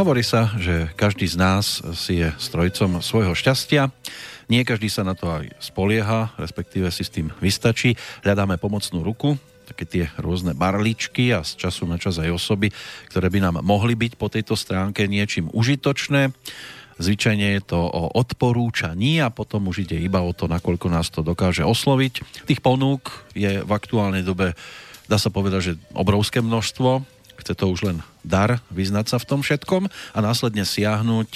Hovorí sa, že každý z nás si je strojcom svojho šťastia. Nie každý sa na to aj spolieha, respektíve si s tým vystačí. Hľadáme pomocnú ruku, také tie rôzne barličky a z času na čas aj osoby, ktoré by nám mohli byť po tejto stránke niečím užitočné. Zvyčajne je to o odporúčaní a potom už ide iba o to, nakoľko nás to dokáže osloviť. Tých ponúk je v aktuálnej dobe, dá sa povedať, že obrovské množstvo. Chce to už len dar vyznať sa v tom všetkom a následne siahnuť,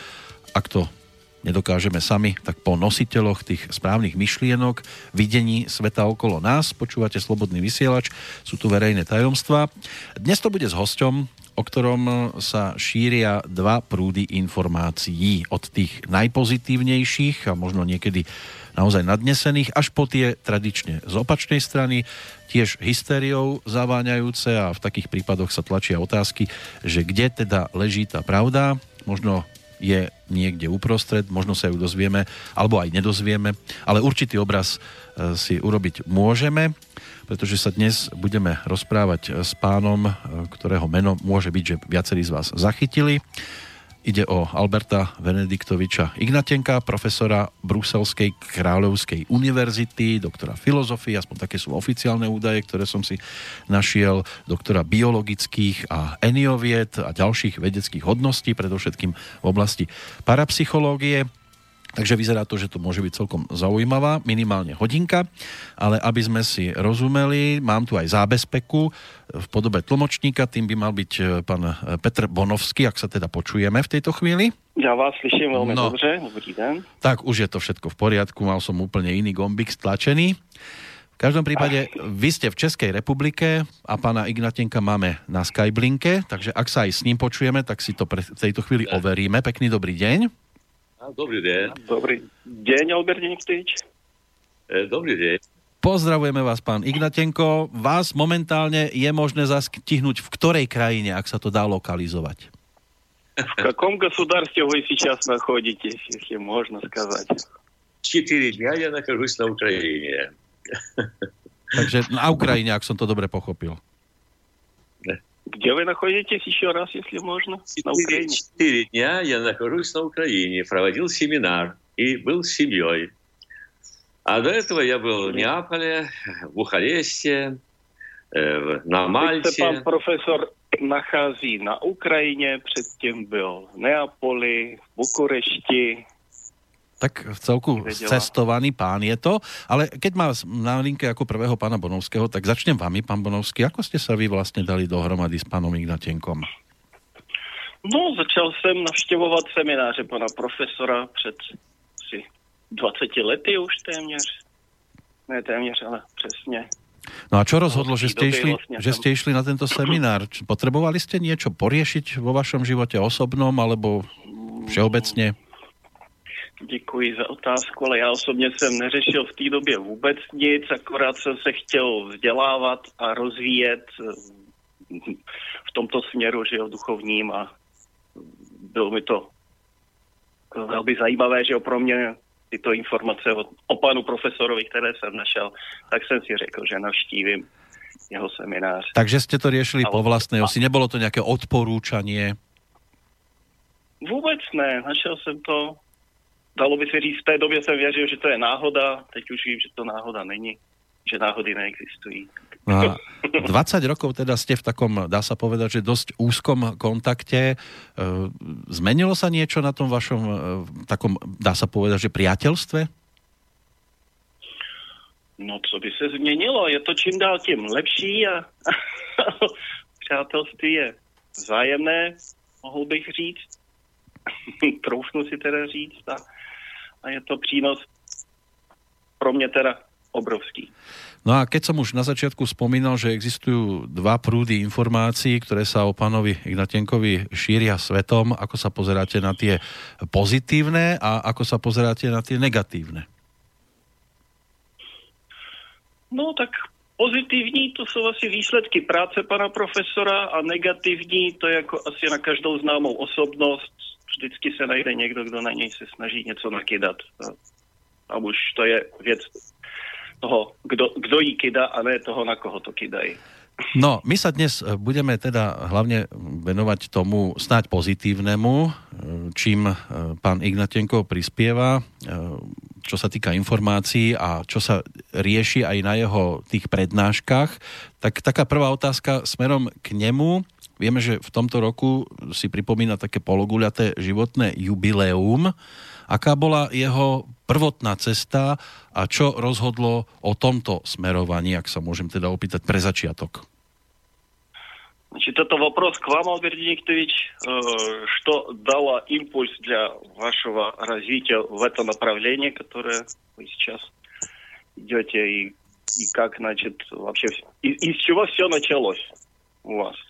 ak to nedokážeme sami, tak po nositeľoch tých správnych myšlienok, videní sveta okolo nás. Počúvate Slobodný vysielač, sú tu verejné tajomstvá. Dnes to bude s hosťom, o ktorom sa šíria dva prúdy informácií. Od tých najpozitívnejších a možno niekedy naozaj nadnesených, až po tie tradične z opačnej strany, tiež hystériou zaváňajúce a v takých prípadoch sa tlačia otázky, že kde teda leží tá pravda, možno je niekde uprostred, možno sa ju dozvieme, alebo aj nedozvieme, ale určitý obraz si urobiť môžeme, pretože sa dnes budeme rozprávať s pánom, ktorého meno môže byť, že viacerí z vás zachytili. Ide o Alberta Venediktoviča Ignatenka, profesora Bruselskej kráľovskej univerzity, doktora filozofie, aspoň také sú oficiálne údaje, ktoré som si našiel, doktora biologických a eniovied a ďalších vedeckých hodností, predovšetkým v oblasti parapsychológie. Takže vyzerá to, že to môže byť celkom zaujímavá, minimálne hodinka, ale aby sme si rozumeli, mám tu aj zábezpeku v podobe tlmočníka, tým by mal byť pán Petr Bonovský, ak sa teda počujeme v tejto chvíli. Ja vás slyším veľmi dobře, dobrý den. Tak už je to všetko v poriadku, mal som úplne iný gombík stlačený. V každom prípade, vy ste v Českej republike a pána Ignatenka máme na Skyblinke, takže ak sa aj s ním počujeme, tak si to v tejto chvíli overíme. Pekný dobrý deň. Dobrý deň. Dobrý deň, Albert Niktič. Dobrý deň. Pozdravujeme vás, pán Ignatenko. Vás momentálne je možné zastihnúť v ktorej krajine, ak sa to dá lokalizovať? В каком государстве вы сейчас находитесь, если можно сказать? 4 дня я нахожусь на Украине. Takže na Ukrajine, ak som to dobre pochopil. Где вы находитесь еще раз, если можно? На Украине. 4 дня я нахожусь на Украине, проводил семинар и был с семьей. А до этого я был в Неаполе, в Бухаресте, на Мальте. Teď se pan profesor nachází na Ukrajině, předtím byl v Neapoli, v Bukurešti. Tak v celku cestovaný pán je to, ale keď má na linke ako prvého pána Bonovského, tak začnem vami, pán Bonovský. Ako ste sa vy vlastne dali dohromady s pánom Ignatenkom? No, začal jsem navštěvovat semináře pana profesora před asi 20 lety už téměř. Ne téměř, ale přesně. No a čo rozhodlo, že ste išli na tento seminár? Potrebovali ste niečo poriešiť vo vašom živote osobnom, alebo všeobecne? Děkuji za otázku, ale já osobně jsem neřešil v té době vůbec nic, akorát jsem se chtěl vzdělávat a rozvíjet v tomto směru, že jo, duchovním, a bylo mi to velmi zajímavé, že jo, pro mě tyto informace o panu profesorovi, které jsem našel, tak jsem si řekl, že navštívím jeho seminář. Takže ste to riešili po vlastnej osi, nebolo to nejaké odporúčanie? Vůbec ne, našel jsem to. Dalo by se říct, v té době jsem věřil, že to je náhoda, teď už vím, že to náhoda není, že náhody neexistují. No 20 rokov teda ste v takom, dá sa povedať, že dosť úzkom kontakte. Zmenilo sa niečo na tom vašom takom, dá sa povedať, že priateľstve? No, co by se změnilo? Je to čím dál tím lepší a přátelství je vzájemné, mohl bych říct. Troufnu si teda říct a je to přínos pro mě teda obrovský. No a keď som už na začiatku spomínal, že existujú dva prúdy informácií, ktoré sa o pánovi Ignatenkovi šíria svetom, ako sa pozeráte na tie pozitívne a ako sa pozeráte na tie negatívne? No tak pozitivní to jsou asi výsledky práce pana profesora a negativní to je jako asi na každou známou osobnost. Vždycky se najde někdo, kdo na něj se snaží něco nakydat. A už to je věc toho, kdo jí kydá a ne toho, na koho to kydají. No, my sa dnes budeme teda hlavne venovať tomu snáď pozitívnemu, čím pán Ignatenko prispieva, čo sa týka informácií a čo sa rieši aj na jeho tých prednáškach. Tak taká prvá otázka smerom k nemu. Vieme, že v tomto roku si pripomína také pologuľaté životné jubileum. Aká bola jeho prvotná cesta a čo rozhodlo o tomto smerovaní, ak sa môžem teda opýtať pre začiatok? Значит, это вопрос к вам, Альберт Викторович. Что дало импульс для вашего развития в это направление, которое вы сейчас идете, и как, значит, вообще, из чего все началось у вас?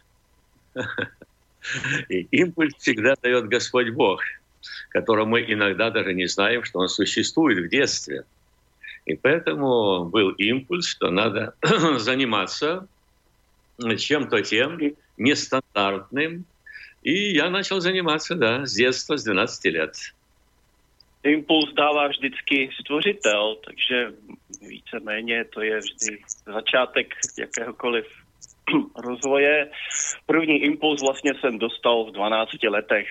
И импульс всегда дает Господь Бог, которого мы иногда даже не знаем, что Он существует в детстве. И поэтому был импульс, что надо заниматься чем-то тем нестандартным. И я начал заниматься, да, с детства, с 12 лет. Impuls dává vždycky stvořitel, takže víceméně to je vždy začátek jakéhokoliv rozvoje. První impuls vlastně jsem dostal v 12 letech.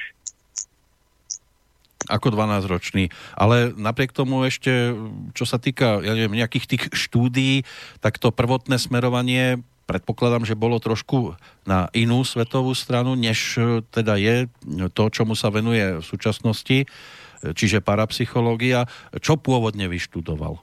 Ako 12-ročný. Ale napriek tomu ešte, čo sa týka, ja neviem, nejakých tých štúdií, tak to prvotné smerovanie predpokladám, že bolo trošku na inú svetovú stranu, než teda je to, čomu sa venuje v súčasnosti, čiže parapsychológia. Čo pôvodne vyštudoval?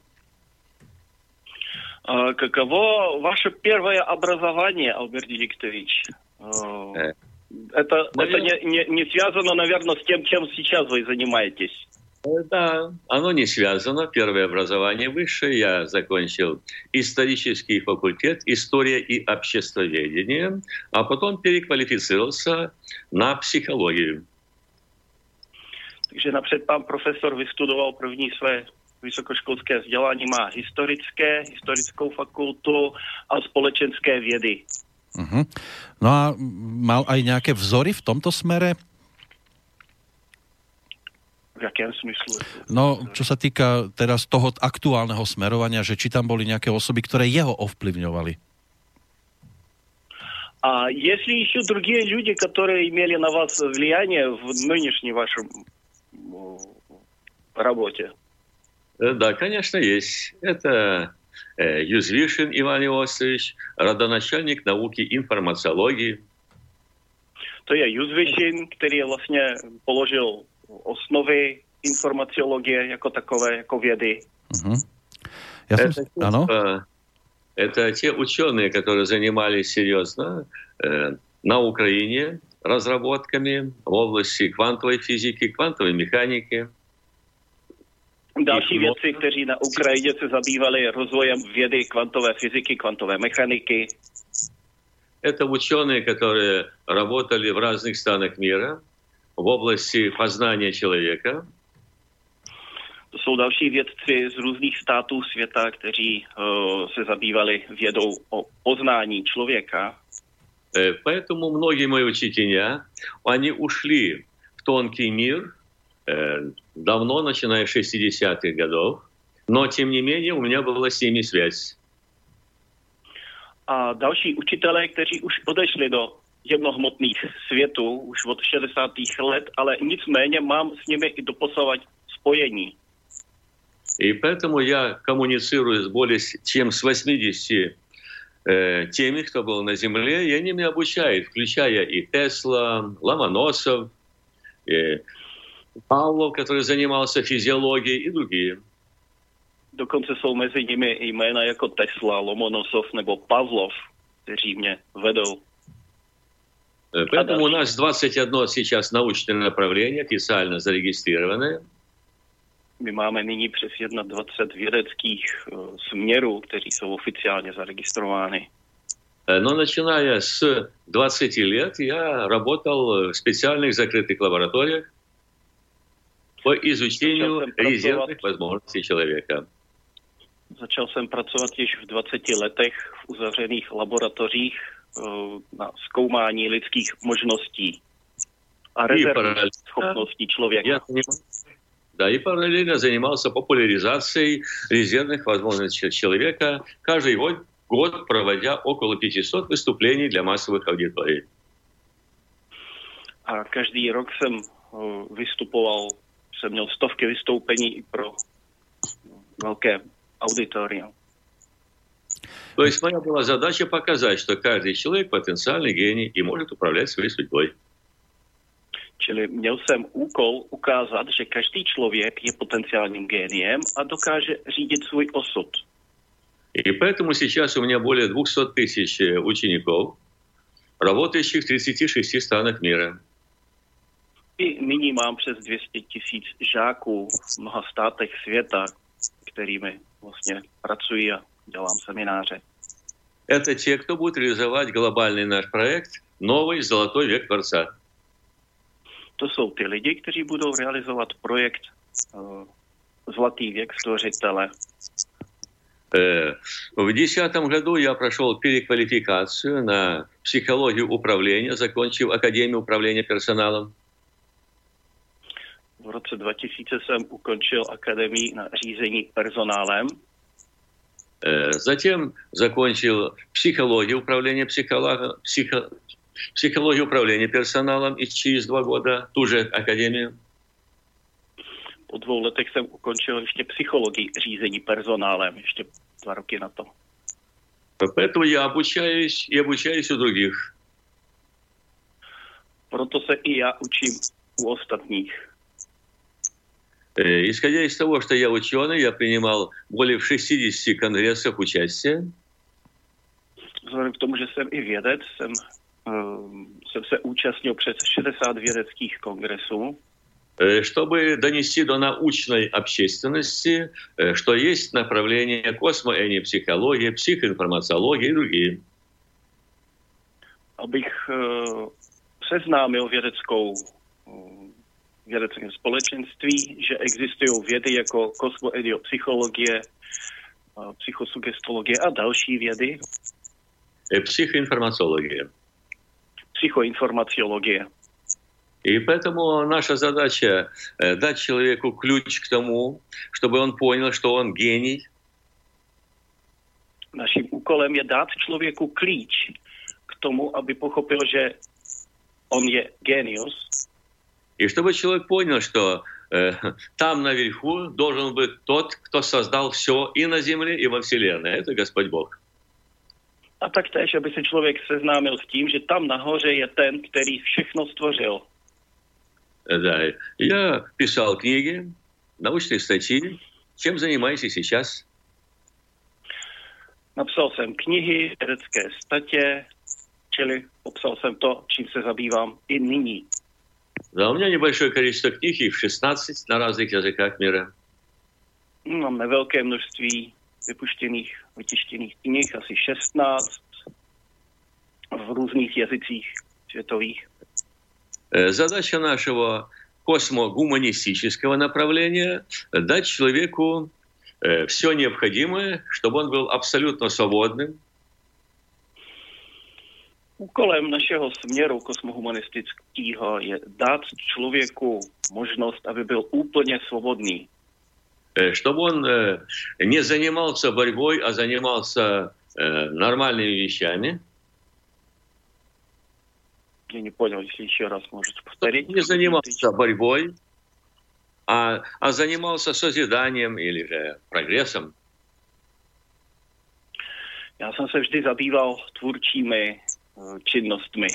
Каково ваше первое образование, Альберт Викторович? Это не связано, наверное, с тем, чем сейчас вы занимаетесь. Да, оно не связано. Первое образование высшее. Я закончил исторический факультет, история и обществоведение, а потом переквалифицировался на психологию. Takže napřed pán profesor vystudoval první své vysokoškolské vzdělání, má historickou fakultu a společenské vědy. Uh-huh. No a mal aj nejaké vzory v tomto smere? V jakém smyslu? No, čo sa týka teraz toho aktuálneho smerovania, že či tam boli nejaké osoby, ktoré jeho ovplyvňovali? А есть ли еще другие люди, которые имели на вас влияние в нынешней вашей работе? Да, конечно, есть. Это Юзвишин Иван Иосифович, родоначальник науки информациологии. To je Юзвишин, který vlastně položil osnovy informaciologie jako takové, jako vědy. Uh-huh. Это те ученые, которые занимались серьезно на Украине разработками в области квантовой физики, квантовой механики. Další vědci, kteří na Ukrajině se zabývali rozvojem vědy kvantové fyziky, kvantové mechaniky. Это ученые, которые работали в разных странах мира в области познания человека. To jsou další vědci z různých států světa, kteří se zabývali vědou o poznání člověka. Поэтому многие мои учителя, они ушли в тонкий мир давно, начиная с 60-х годов, но, тем не менее, у меня была с ними связь. A další učitelé, kteří už odešli do jemnohmotných světů už od 60. let, ale nicméně mám s nimi i doposavad spojení. И поэтому я коммуницирую с более чем с 80 теми, кто был на Земле, и они меня обучают, включая и Тесла, Ломоносов, Павлов, который занимался физиологией, и другие. Dokonce jsou mezi nimi jména jako Tesla, Lomonosov nebo Pavlov, kteří mě vedou. Поэтому у нас 21 сейчас научное направление, официально зарегистрированное. My máme nyní přes 21 vědeckých směrů, kteří jsou oficiálně zaregistrovány. Но начиная с 20 лет я работал в специальных закрытых лабораториях по изучению резервных возможностей человека. Začal jsem pracovat již v 20 letech v uzavřených laboratořích na zkoumání lidských možností a rezervních schopností člověka. Да, и параллельно занимался популяризацией резервных возможностей человека. Каждый год год проводя около 500 выступлений для массовых аудиторий. A každý rok jsem vystupoval, jsem měl stovky vystoupení i pro velké auditorium. То есть моя была задача показать, что каждый человек потенциальный гений и может управлять своей судьбой. Čili měl jsem úkol ukázat, že každý člověk je potenciálním géniem a dokáže řídit svůj osud. И поэтому сейчас у меня более 200 тысяч учеников, работающих в 36 странах мира. I nyní mám přes 200 000 žáků v mnoha státech světa, kterými vlastně pracuji a dělám semináře. Это те, кто будет реализовать глобальный наш проект «Новый золотой век Творца». To jsou ty lidi, kteří budou realizovat projekt Zlatý věk Stvořitele. В 2010 году я прошел переквалификацию на психологию управления, закончив Академию управления персоналом. V roce 2000 jsem ukončil akademii na řízení personálem. Затем закончил психологию управления персоналом и через 2 года ту же академию. Po 2 letech jsem ukončil ještě psychologii řízení personálem, ještě 2 roky na to. Поэтому я обучаюсь и обучаюсь у других. Proto se i já učím u ostatních. Исходя из того, что я ученый, я принимал более 60 конгрессов участия. Vzhledem k tomu, že jsem i vědec, jsem se účastnil přes 60 vědeckých kongresů. Чтобы донести до научной общественности, что есть направления космоэнепсихология, психоинформациология и другие. Abych seznámil vědeckém společenství, že existují vědy jako kosmoediopsychologie, psychosugestologie a další vědy. Psychoinformaciologie. И поэтому наша задача дать человеку ключ к тому, чтобы он понял, что он гений. Naším úkolem je dát člověku klíč k tomu, aby pochopil, že on je genius. И чтобы человек понял, что там наверху должен быть тот, кто создал все и на земле, и во Вселенной. Это Господь Бог. A taktéž, aby se člověk seznámil s tím, že tam nahoře je ten, který všechno stvořil. Да, я писал книги, научные статьи. Чем занимаюсь и сейчас? Napsal jsem knihy, vědecké statě, čili popsal jsem to, čím se zabývám i nyní. Да, у меня небольшое количество книг, их 16 на разных языках мира. Máme velké množství vytištěných knih, asi 16 v různých jazycích světových. Задача нашего космогуманистического направления – дать человеку все необходимое, чтобы он был абсолютно свободным. Úkolem našeho směru kosmohumanistického je dát člověku možnost, aby byl úplně svobodný. Чтобы он не занимался борьбой, а занимался нормальными вещами. Я не понял, если еще раз можете повторить. Не занимался борьбой, а занимался созиданием или же прогрессом. Já jsem se vždy zabýval tvůrčími činnostmi.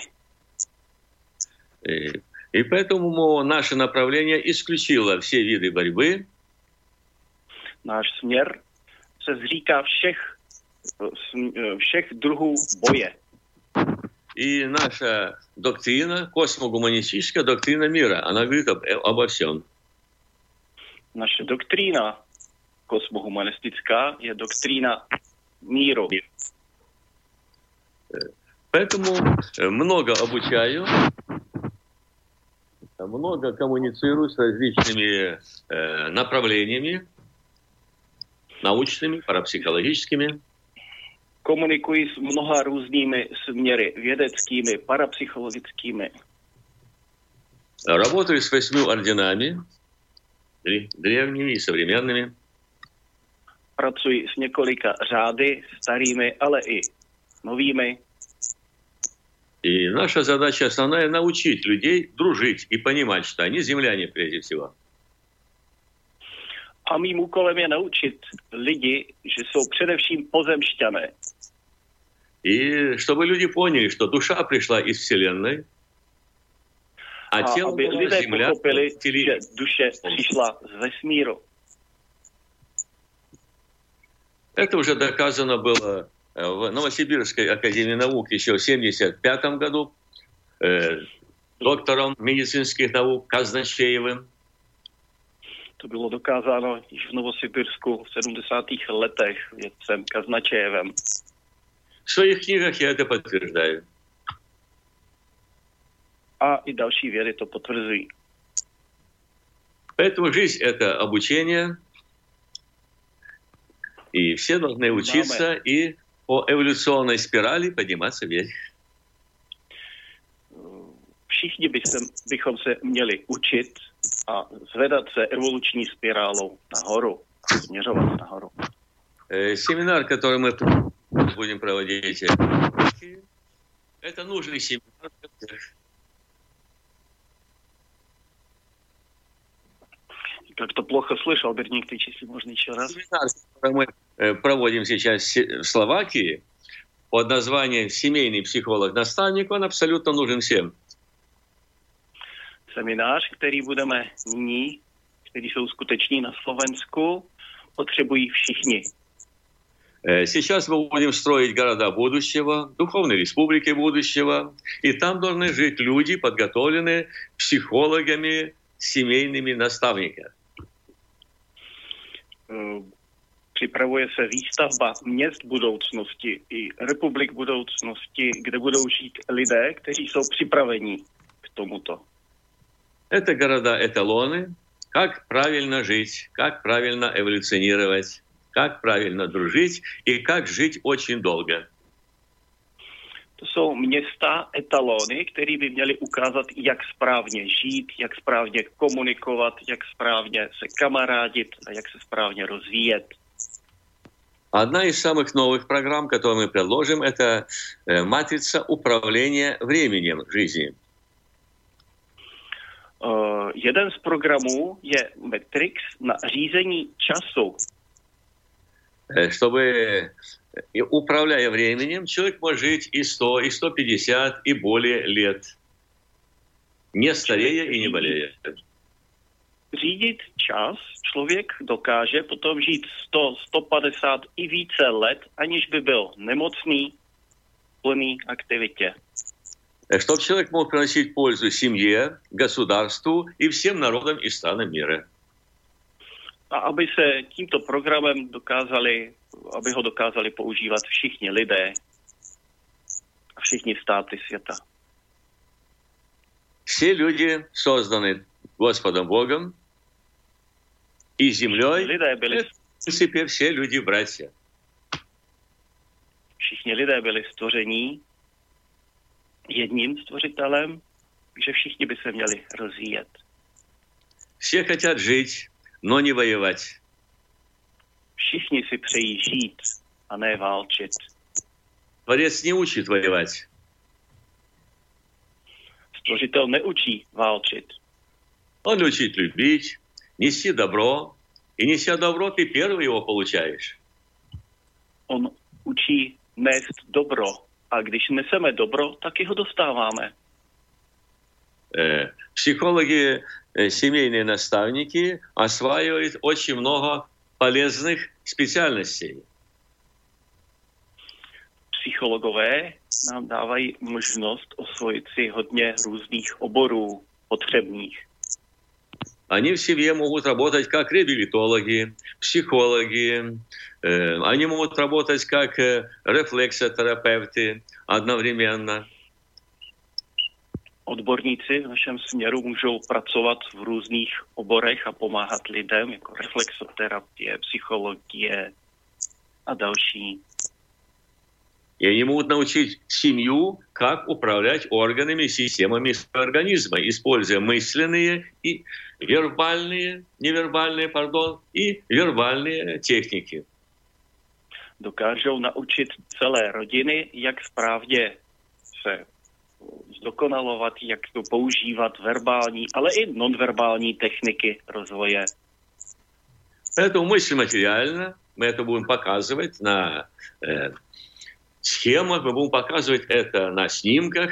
И поэтому наше направление исключило все виды борьбы. Náš směr se zříká všech druhů boje. И наша доктрина, космогуманистическая доктрина мира, она говорит обо всем. Naše doktrína kosmohumanistická je doktrína míru. Поэтому много обучаю, много коммуницирую с различными направлениями, научными, парапсихологическими. Komunikuji s mnoha různými směry, vědeckými, parapsychologickými. Работаю с 8 орденами, древними и современными. pracuji s několika řády, starými, ale i novými. И наша задача основная — научить людей дружить и понимать, что они земляне прежде всего. A mým úkolem je naučit lidi, že jsou především pozemšťané. И чтобы люди поняли, что душа пришла из Вселенной, а тело aby была lidé земля. pochopili, že duše přišla z vesmíru. Это уже доказано было в Новосибирской академии наук еще в 1975 году доктором медицинских наук Казначеевым. To bylo dokázáno již v Novosibirsku v 70. letech vědcem Kaznačejevem. В своих книгах я это подтверждаю. A i další vědy to potvrzují. Поэтому жизнь — это обучение, и все должны учиться и по эволюционной спирали подниматься вверх. Všichni bychom se měli učit a zvedat se evoluční spirálou nahoru a směřovat nahoru. Семинар, который мы будем проводить, это нужный семинар. Как то плохо слышал, Берник, ты если можно еще раз. Семинар, который мы проводим сейчас в Словакии под названием «Семейный психолог-наставник», он абсолютно нужен всем. Seminář, který budeme nyní, který jsou skuteční na Slovensku, potřebují všichni. Сейчас мы будем строить города будущего, духовные республики будущего, и там должны жить люди, подготовленные психологами, семейными наставниками. Připravuje se výstavba měst budoucnosti i republik budoucnosti, kde budou žít lidé, kteří jsou připraveni k tomuto. Это города-эталоны, как правильно жить, как правильно эволюционировать, как правильно дружить и как жить очень долго. To jsou města, etalony, které by měly ukázat, jak správně žít, jak správně komunikovat, jak správně se kamarádit a jak se správně rozvíjet. Одна из самых новых программ, которую мы предложим, это матрица управления временем жизни. Jeden z programů je Matrix na řízení času. Чтобы, управляя временем, человек может жить и 100, и 150, и более лет, не старея и не болея. Řídit čas člověk dokáže potom žít 100, 150 i více let, aniž by byl nemocný, plný aktivitě. Чтобы человек мог приносить пользу семье, государству и всем народам и странам мира. A aby se tímto programem aby ho dokázali používat všichni lidé a všichni státy světa. Все люди созданы Господом Богом и землей. В принципе, все люди братья. Všichni lidé byli stvoření jedním stvořitelem, takže všichni by se měli rozvíjet. Все хотят жить, но не воевать. Všichni si přejí žít a ne válčit. Творец не учит воевать. Stvořitel neučí válčit. Он учит любить, неси добро, и неся добро, ты первый его получаешь. On učí nést dobro, a když neseme dobro, tak ho dostáváme. Психологи, семейные наставники осваивают очень много полезных специальностей. Psychologové nám dávají možnost osvojit si hodně různých oborů potřebných. Они в семье могут работать как реабилитологи, психологи, они могут работать как рефлексотерапевты одновременно. Odborníci v našem směru můžou pracovat v různých oborech a pomáhat lidem, jako reflexoterapie, psychologie a další. И они могут научить семью, как управлять органами и системами организма, используя мысленные и невербальные техники. dokážou naučit celé rodiny, jak správně se zdokonalovat, jak to používat verbální, ale i nonverbální techniky rozvoje. Эту мысль материально, мы это будем показывать на схемах, мы будем показывать это на снимках.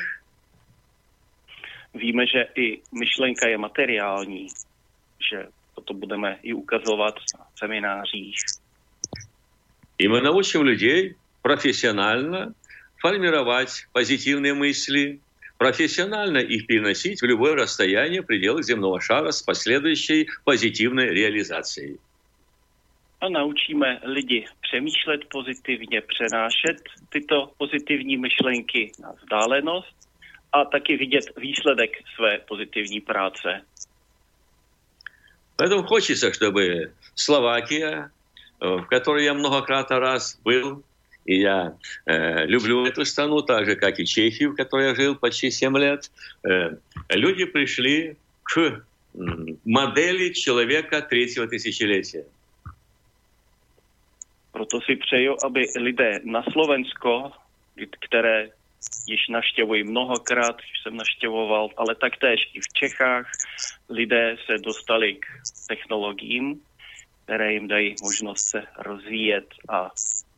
Víme, že i myšlenka je materiální, že toto budeme i ukazovat na seminářích. И мы научим людей профессионально формировать позитивные мысли, профессионально их переносить в любое расстояние в пределах земного шара с последующей позитивной реализацией. A naučíme lidi přemýšlet pozitivně, přenášet tyto pozitivní myšlenky na vzdálenost a taky vidět výsledek své pozitivní práce. Поэтому хочется, чтобы Словакия, в которой я многократно раз был, и я люблю эту страну, так же, как и Чехию, в которой я жил почти 7 лет, люди пришли к модели человека третьего тысячелетия. Proto si přeju, aby lidé na Slovensko, které již navštěvuji mnohokrát, již jsem navštěvoval, ale taktéž i v Čechách, lidé se dostali k technologiím, které jim dají možnost se rozvíjet. A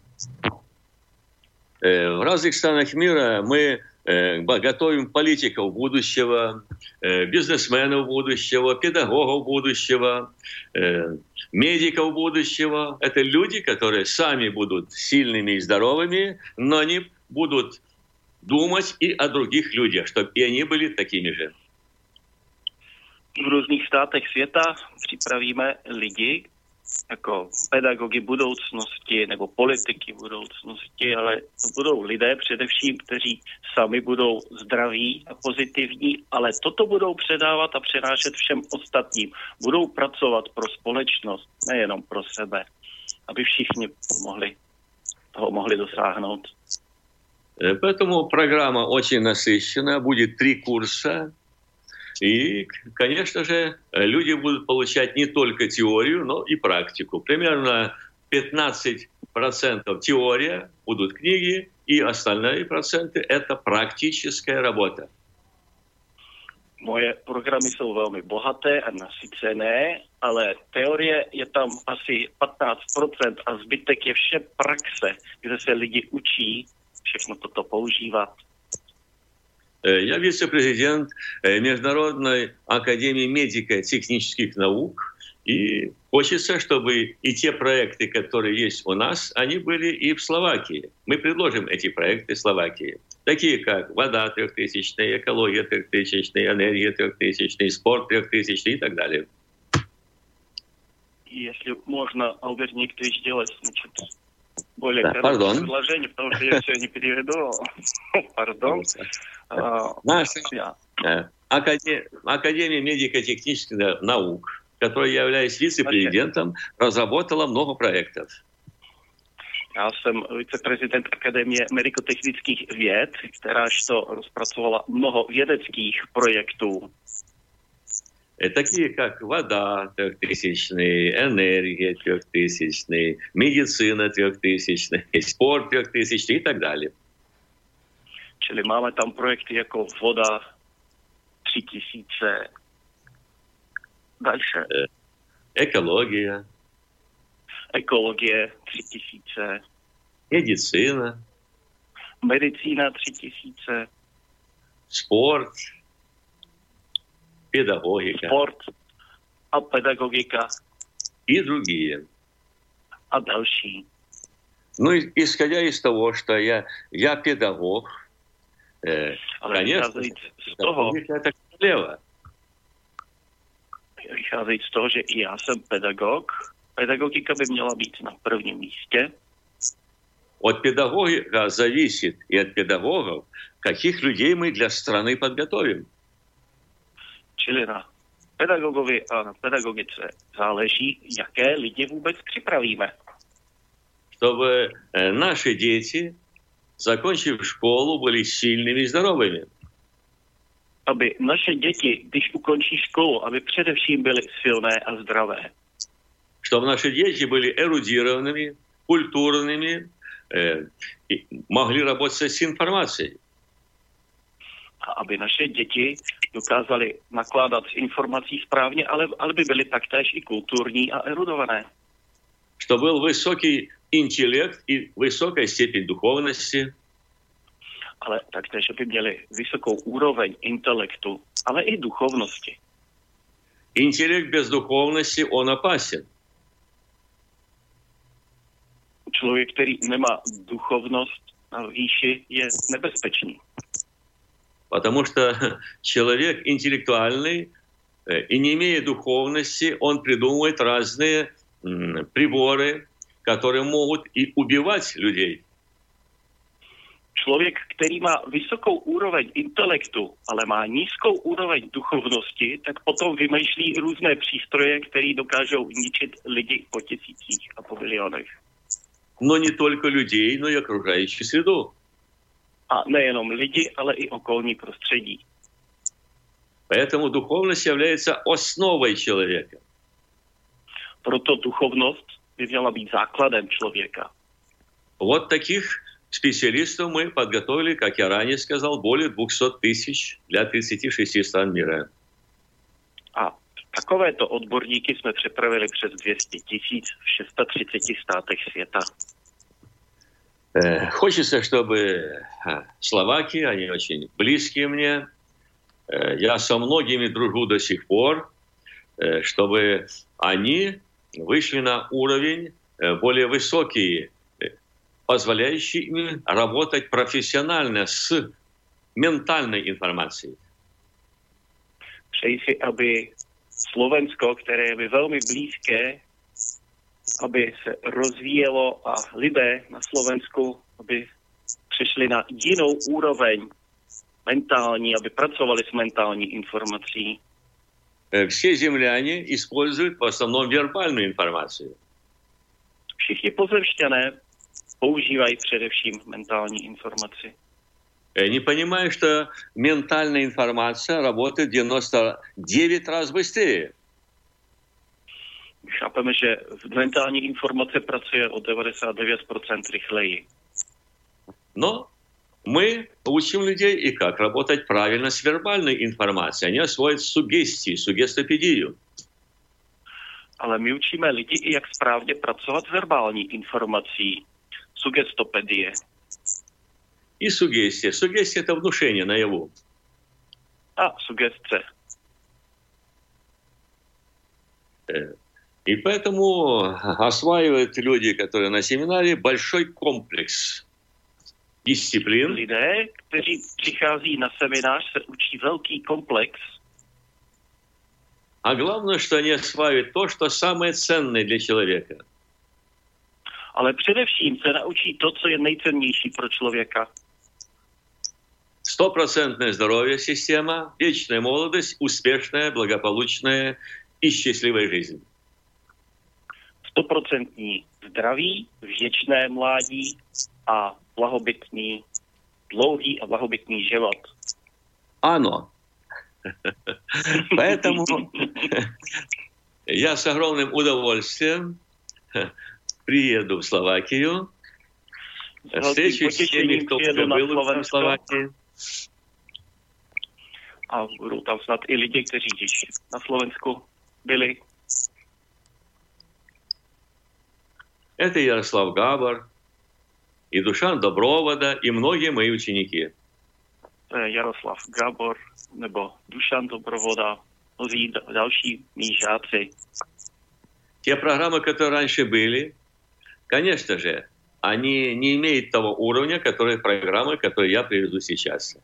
в разных странах мира мы готовим политиков будущего, бизнесменов будущего, педагогов будущего, медиков будущего. Это люди, которые сами будут сильными и здоровыми, но они будут думать и о других людях, чтобы и они были такими же. V různých státech světa připravíme lidi jako pedagogy budoucnosti nebo politiky budoucnosti, ale to budou lidé především, kteří sami budou zdraví a pozitivní, ale toto budou předávat a přenášet všem ostatním. Budou pracovat pro společnost, nejenom pro sebe, aby všichni toho mohli dosáhnout. Поэтому программа очень насыщенная, будет 3 курса. И, конечно же, люди будут получать не только теорию, но и практику. Примерно 15% теория, будут книги, и остальные проценты – это практическая работа. Moje programy jsou velmi bohaté a nasycené, ale teorie je tam asi 15% a zbytek je vše praxe, kde se lidi učí všechno toto používat. Я вице-президент Международной академии медико-технических наук, и хочется, чтобы и те проекты, которые есть у нас, они были и в Словакии. Мы предложим эти проекты Словакии, такие как вода 3000, экология 3000, энергия 3000, спорт 3000 и так далее. Если можно, Альберт Никитович, сделать более короткое предложение, потому что я все не переведу. Пардон. Наша Академия медико-технических наук, которой я являюсь вице-президентом, разработала много проектов. Já jsem viceprezident Akademie medicotechnických věd, kteráž to rozpracovala mnoho vědeckých projektů. Такие как вода 3000, энергия 3000, медицина 3000, спорт 3000 и так далее. Čili máme tam projekty jako voda 3000, další. Экология. Ekologie 3000. Медицина. Medicína 3000. Sport. Педагогика. Sport a pedagogika. И другие. A další. Ну, исходя из того, что я педагог, конечно, это королева. Vycházejíc z toho, že i já jsem pedagog, pedagogika by měla být na prvním místě. От педагога зависит и от педагогов, каких людей мы для страны подготовим. Čili na pedagogovi a na pedagogice záleží, jaké lidi vůbec připravíme. Чтобы наши дети, закончив школу, были сильными и здоровыми. Aby naše děti, když ukončí školu, aby především byly silné a zdravé. Чтобы наши дети были эрудированными, культурными, могли работать с информацией. A aby naše děti dokázaly nakládat s informací správně, ale by byly taktéž i kulturní a erudované. Что был высокий интеллект и высокая степень духовности. Ale taktéž, aby měli vysokou úroveň intelektu, ale i duchovnosti. Интеллект без духовности, он опасен. Člověk, který nemá duchovnost na výši, je nebezpečný. Потому что человек интеллектуальный и не имея духовности, он придумывает разные приборы, которые могут и убивать людей. Člověk, který má vysokou úroveň intelektu, ale má nízkou úroveň duchovnosti, tak potom vymýšlí různé přístroje, které dokážou ničit lidi po tisících a po milionech. Но не только людей, но и окружающую среду. A nejenom lidi, ale i okolní prostředí. Поэтому духовность является основой человека. Proto duchovnost by měla být základem člověka. Вот таких специалистов мы подготовили, как я ранее сказал, более 200 тысяч для 36 стран мира. A takovéto odborníky jsme připravili přes 200 000 v 630 státech světa. Хочется, чтобы словаки, они очень близкие мне, я со многими дружу до сих пор, чтобы они вышли на уровень более высокий, позволяющий им работать профессионально с ментальной информацией. Přeji si, aby Slovensko, které je mi velmi blízké, aby se rozvíjelo a lidé na Slovensku, aby přišli na jinou úroveň mentální, aby pracovali s mentální informací. Все земляне используют в основном вербальную информацию. Všichni pozemšťané používají především mentální informaci. Не понимая, что ментальная информация работает 99 раз быстрее. Chápeme, že mentální informace pracuje o 99% rychleji. Но мы учим людей и как работать правильно с вербальной информацией. Они освоят сугестию, сугестопедию. Ale my učíme lidi i jak správně pracovat s verbální informací. Sugestopedie. И сугестия. Сугестия – это внушение наяву. A sugestce. И поэтому осваивают люди, которые на семинаре, большой комплекс дисциплин. Lidé, kteří přichází na seminář, se učí velký komplex. А главное, что они осваивают то, что самое ценное для человека. Ale především se naučí to, co je nejcennější pro člověka. 100% здоровье система, вечная молодость, успешная, благополучная и счастливая жизнь. 100% zdraví, věčné mládí a blahobytný, dlouhý a blahobytný život. Ano. Поэтому я с огромным удовольствием приеду в Словакию, встречусь с теми, кто уже был в Словакии. A budou tam snad i lidi, kteří již na Slovensku byli. Это Ярослав Габор, и Душан Добровода, и многие мои ученики. To je Jaroslav Gabor nebo Dušan Dobrovoda, mnozí další mí žáci. Те программы, которые раньше были, конечно же, они не имеют того уровня, программы, которые я приведу сейчас.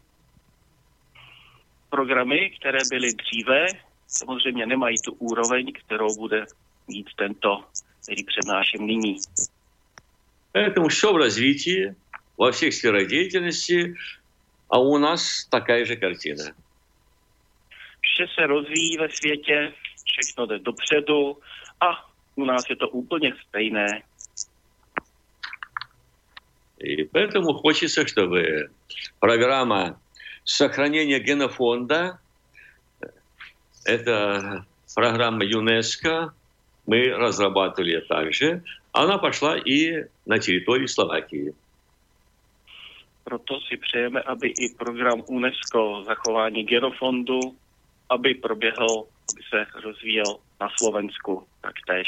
Programy, které byly dříve, samozřejmě nemají tu úroveň, kterou bude mít tento, který přednáším nyní. Поэтому все в развитии, во всех сферах деятельности, а у нас такая же картина. Vše se rozvíjí ve světě, všechno jde dopředu a u nás je to úplně stejné. И поэтому хочется, чтобы программа сохранения генофонда, это программа ЮНЕСКО, мы разрабатывали также, она пошла и на территории Словакии. Proto si přejeme, aby i program UNESCO zachování genofondu, aby proběhl, aby se rozvíjel na Slovensku taktéž.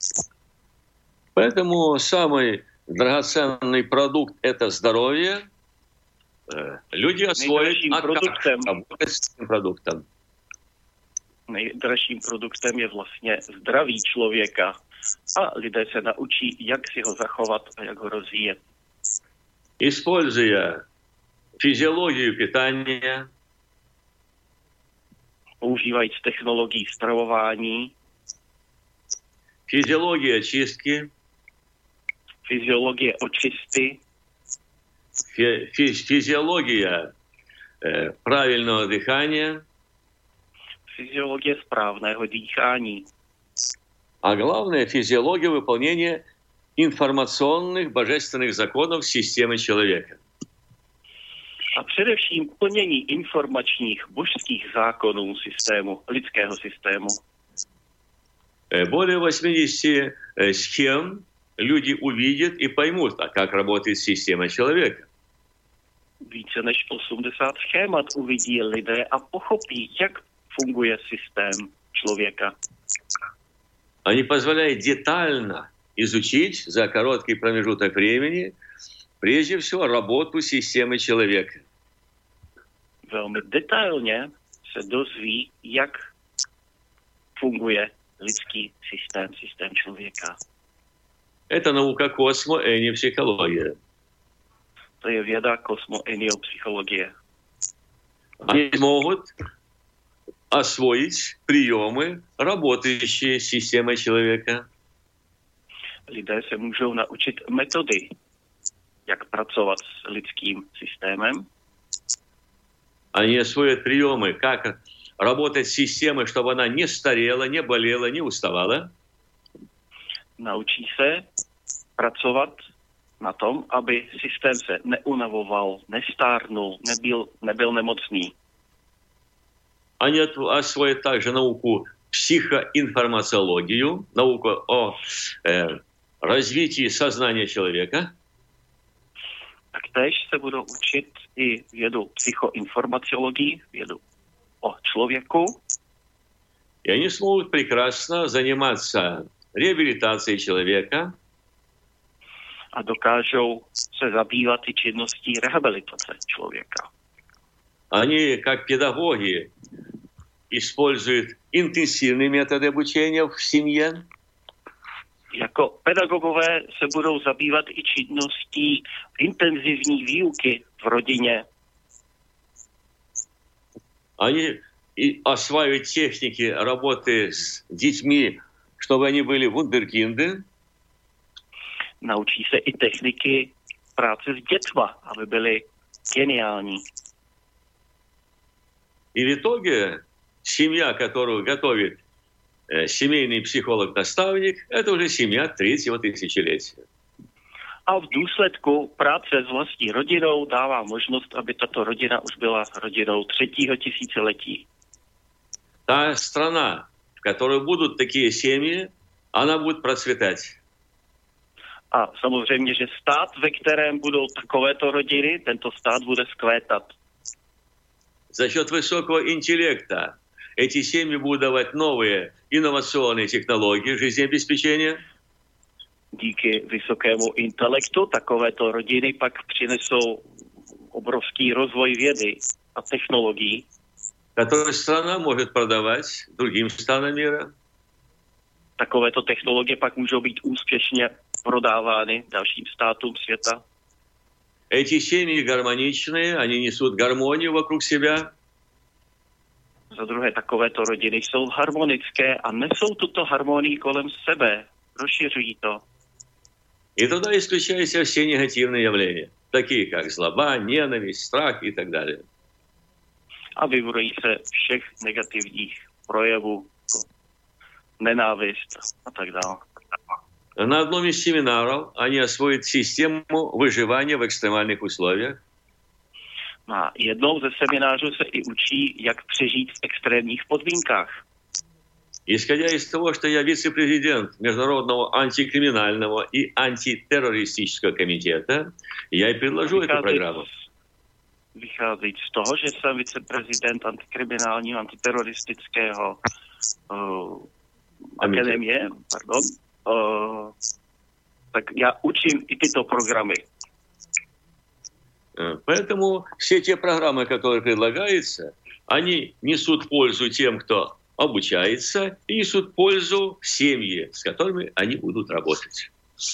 Поэтому самый драгоценный продукт – это здоровье. Люди освоят работать с этим продуктом. Nejdražším produktem je vlastně zdraví člověka a lidé se naučí, jak si ho zachovat a jak ho rozvíjet. Используя физиологию питания, používajíc technologií stravování, физиология очистки, fyziologie očisty, физиология правильного дыхания, fyziologie správného dýchání. А главное, физиология выполнения информационных божественных законов системы человека. A především plnění informačních božských zákonů systému, lidského systému. Более 80 схем люди увидят и поймут, как работает система человека. Více než 80 schémat uvidí lidé a pochopí, jak funguje systém člověka. Они позволяют детально изучить за короткий промежуток времени, прежде всего, работу системы человека. Velmi detailně se dozví, jak funguje lidský systém člověka. Это наука космо-энеопсихология. To je věda kosmo-eniopsychologie. Они могут освоить приемы, работающие с системой человека. Lidé se můžou naučit metody, jak pracovat s lidským systémem. Они освоят приемы, как работать с системой, чтобы она не старела, не болела, не уставала. Naučí se pracovat na tom, aby systém se neunavoval, nestárnul, nebyl nemocný. Они освоят также науку психоинформациологию, науку о развитии сознания человека. Taktéž se budou učit i vědu psychoinformaciologii, vědu o člověku. И они смогут прекрасно заниматься реабилитацией человека. A dokážou se zabývat i činností rehabilitace člověka. Они, как педагоги, используют интенсивные методы обучения в семье. Jako pedagogové se budou zabývat i činností intenzivní výuky v rodině. Они осваивают техники работы с детьми, чтобы они были вундеркинды. Naučí se i techniky práce s dětma, aby byly geniální. И в итоге семья, которую готовит семейный психолог-наставник, это уже семья третьего тысячелетия. A v důsledku práce s vlastní rodinou dává možnost, aby tato rodina už byla rodinou 3. tisíciletí. Та страна, в которой будут такие семьи, она будет процветать. A samozřejmě, že stát, ve kterém budou takovéto rodiny, tento stát bude vzkvétat. За счет высокого интеллекта эти семьи будут давать новые инновационные технологии жизнеобеспечения. Díky vysokému intelektu takovéto rodiny pak přinesou obrovský rozvoj vědy a technologií, которые страна может продавать другим странам мира. Takovéto technologie pak můžou být úspěšně prodávány dalším státům světa. Эти семьи гармоничные, они несут гармонию вокруг себя. Za druhé, takovéto rodiny jsou harmonické a nesou tuto harmonii kolem sebe, rozšiřují to. И тогда исключаются все негативные явления, такие как злоба, ненависть, страх и так далее. A vyvorují se všech negativních projevů, nenávist a tak dále. На одном из семинаров они освоят систему выживания в экстремальных условиях. Na jednou ze seminářů se i učí, jak přežít v extrémních podmínkách. Исходя из того, что я вице-президент Международного антикриминального и антитеррористического комитета, я и предложу эту программу. Vycházet z toho, že jsem viceprezident antikriminálního, antiteroristického akademie, tak já učím i tyto programy. Поэтому все те программы, которые предлагаются, они несут пользу тем, кто обучается, и несут пользу семье, с которыми они будут работать.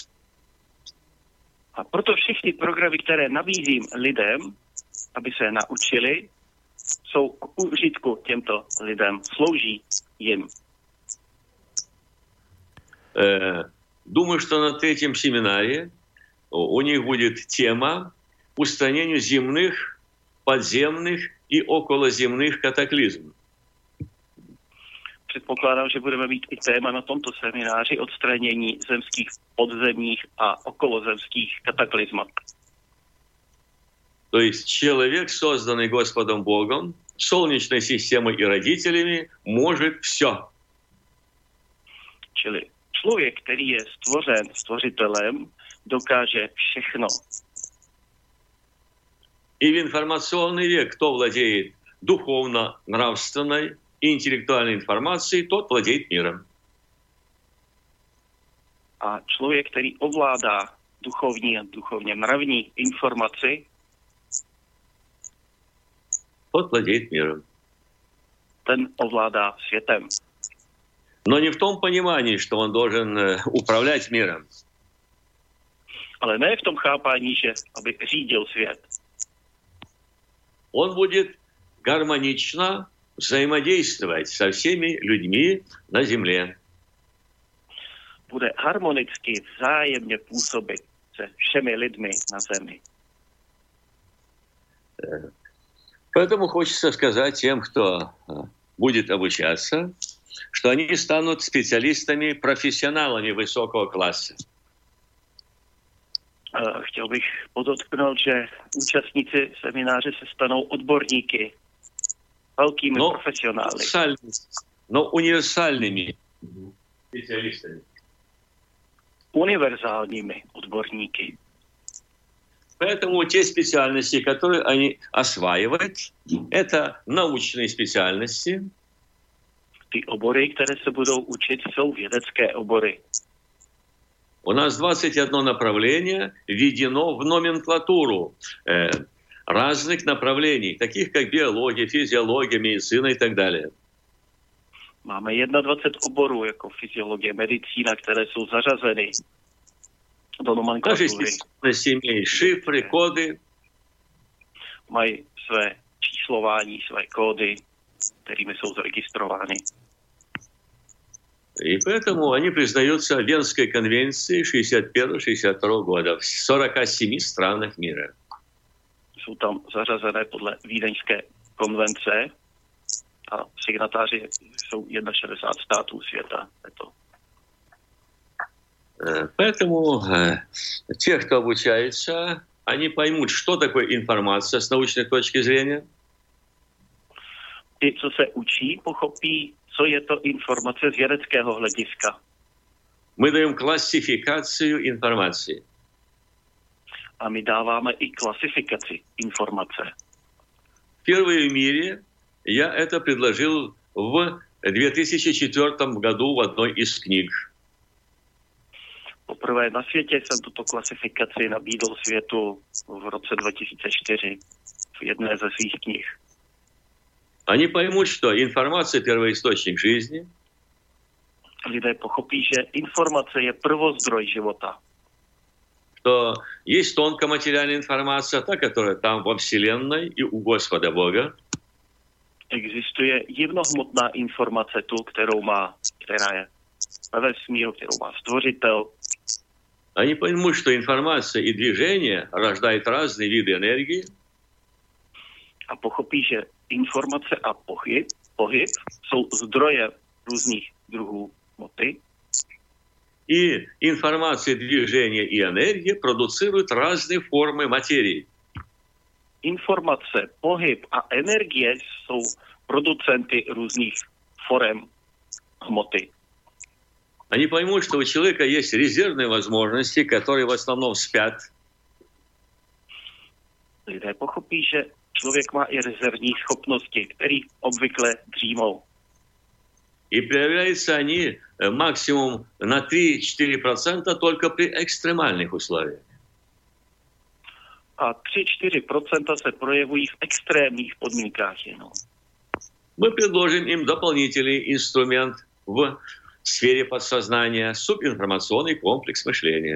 A proto všechny programy, které nabízím lidem, aby se naučili, jsou k užitku těmto lidem, slouží jim. Думаю, что на третьем семинаре у них будет тема устранения земных, подземных и околоземных катаклизмов. Předpokládám, že budeme mít i téma na tomto semináři odstranění zemských, podzemních a okolozemských kataklizmat. То есть человек, созданный Господом Богом, Солнечной системой и родителями, может все. Čili člověk, který je stvořen stvořitelem, dokáže všechno. И в информационный век, кто владеет духовно-нравственной и интеллектуальной информацией, тот владеет миром. A člověk, který ovládá duchovní a duchovně mravní informaci, тот владеет миром. Ten ovládá světem. Но не в том понимании, что он должен управлять миром. Ale ne v tom chápání, že aby řídil svět. Он будет гармонично взаимодействовать со всеми людьми на земле. Bude harmonicky vzájemně působit se všemi lidmi na zemi. Поэтому хочется сказать тем, кто будет обучаться, что они станут специалистами, профессионалами высокого класса. Chtěl bych podotknout, že účastníci semináře se stanou odborníky, velkými profesionály. Но универсальными специалистами. Univerzálními odborníky. Поэтому те специальности, которые они осваивают, это научные специальности. Ty obory, které se budou učit, jsou vědecké obory. У нас 21 направление введено в номенклатуру разных направлений, таких как биология, физиология, медицина и так далее. Máme 21 oborů, jako fyziologie, medicína, které jsou zařazeny do nomenklatury. Naše spециальности имеют шифры, коды. Mají své číslování, své kódy, kterými jsou zaregistrovány. И поэтому они признаются Венской конвенцией 61-62 года в 47 странах мира. Jsou tam zařazené podle Vídeňské konvence a signatáři jsou 61 států světa. Поэтому те, кто обучается, они поймут, что такое информация с научной точки зрения. Ti, co se učí, pochopí, co je to informace z vědeckého hlediska. Мы даем классификацию информации. A my dáváme i klasifikaci informace. Впервые в мире я это предложил в 2004 году в одной из книг. Poprvé na světě jsem tuto klasifikaci nabídl světu v roce 2004 v jedné ze svých knih. Они поймут, что информация – первоисточник жизни. Lidé pochopí, že informace je prvozdroj života. Что есть тонкоматериальная информация, та, которая там во Вселенной и у Господа Бога. Existuje jemnohmotná informace tu, která je ve vesmíru, kterou má stvořitel. Они поймут, что информация и движение рождают разные виды энергии. A pochopí, že informace a pohyb jsou zdroje různých druhů hmoty. И информация, движение и энергия продуцируют разные формы материи. Informace, pohyb a energie jsou producenty různých forem hmoty. Они поймут, что у человека есть резервные возможности, которые в основном спят. Lidé pochopí, že člověk má i rezervní schopnosti, které obvykle dřímou. И проявляются они максимум на 3-4% только при экстремальных условиях. A 3-4% se projevují v extrémních podmínkách jenom. Мы предложим им дополнительный инструмент в сфере подсознания, субинформационный комплекс мышления.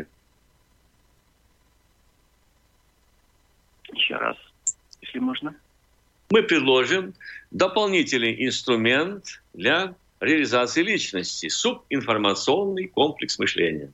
Ještě raz, jestli možná. Мы предложим дополнительный инструмент для реализации личности, субинформационный комплекс мышления.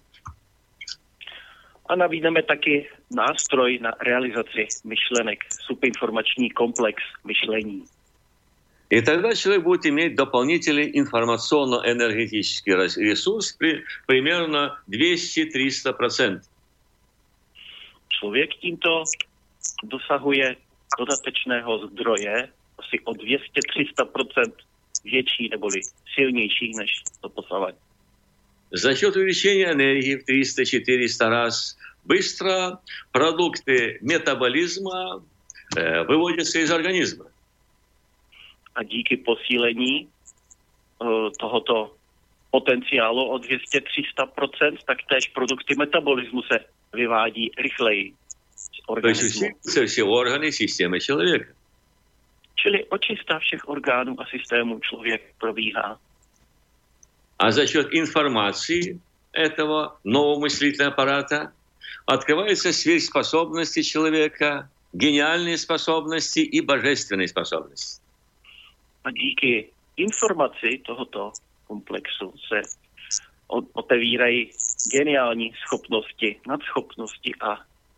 A nabídneme taky nástroj na realizaci myšlenek, subinformační komplex myšlení. И тогда человек будет иметь дополнительный информационно-энергетический ресурс примерно 200-300%. Člověk tímto dosahuje dodatečného zdroje asi o 200-300% větší neboli silnější než to posavať. За счет увеличения энергии в 300-400 раз быстро продукты метаболизма выводятся из организма. A díky posílení tohoto potenciálu o 200-300%, tak též produkty metabolismu se vyvádí rychleji z organismu. To jsou všechny orgány systémy člověka. Čili očista všech orgánů a systémů člověk probíhá. А за счет информации этого нового мыслительного аппарата открывается сверхспособности человека, гениальные способности и божественные способности. A díky informaci tohoto komplexu se otevírají geniální schopnosti, nadschopnosti a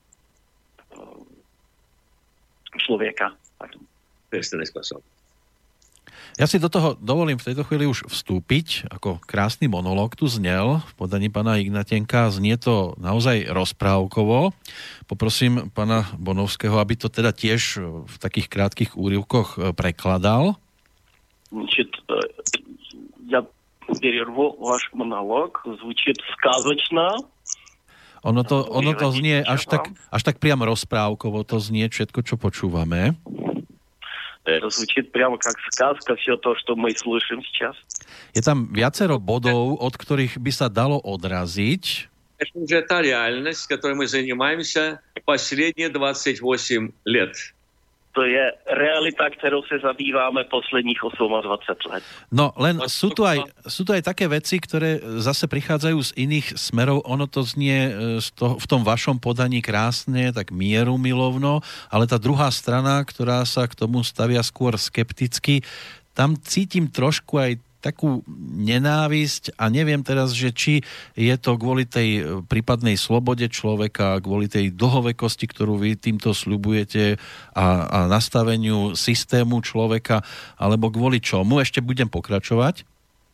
člověka. Bожественные способности. Ja si do toho dovolím v tejto chvíli už vstúpiť, ako krásny monológ tu znel v podaní pána Ignatenka. Znie to naozaj rozprávkovo. Poprosím pána Bonovského, aby to teda tiež v takých krátkých úryvkoch prekladal. Значит, я перерву ваш монолог. Звучит сказочно. Ono to znie až tak priam rozprávkovo, to znie všetko, čo počúvame. Это звучит прямо как сказка, все то, что мы слышим сейчас. Je tam viacero bodov, od ktorých by sa dalo odraziť. Это уже та реальность, которой мы занимаемся последние 28 лет. To je realita, ktorou sa zabýváme posledních 28 let. No, len sú tu aj také veci, ktoré zase prichádzajú z iných smerov. Ono to znie v tom vašom podaní krásne, tak mierumilovno, ale tá druhá strana, ktorá sa k tomu stavia skôr skepticky, tam cítim trošku aj takú nenávisť a neviem teraz, že či je to kvôli tej prípadnej slobode človeka, kvôli tej dlhovekosti, ktorú vy týmto sľubujete a nastaveniu systému človeka, alebo kvôli čomu. Ešte budem pokračovať.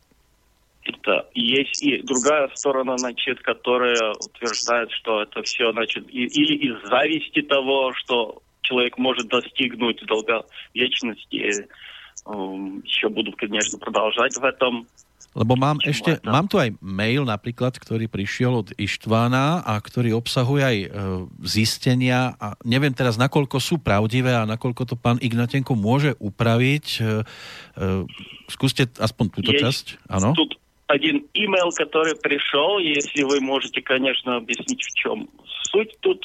Есть и другая сторона, значит, которая утверждает, что это все, значит, или из зависти того, что человек может достигнуть долговечности. Еще буду, конечно, продолжать в этом. Lebo mám tu aj mail napríklad, ktorý prišiel od Ištvána a ktorý obsahuje aj zistenia a neviem teraz, nakoľko sú pravdivé a nakoľko to pán Ignatenko môže upraviť. Skúste aspoň túto časť. Áno. Тут один email, который пришел, если вы можете, конечно, объяснить, в чем суть тут.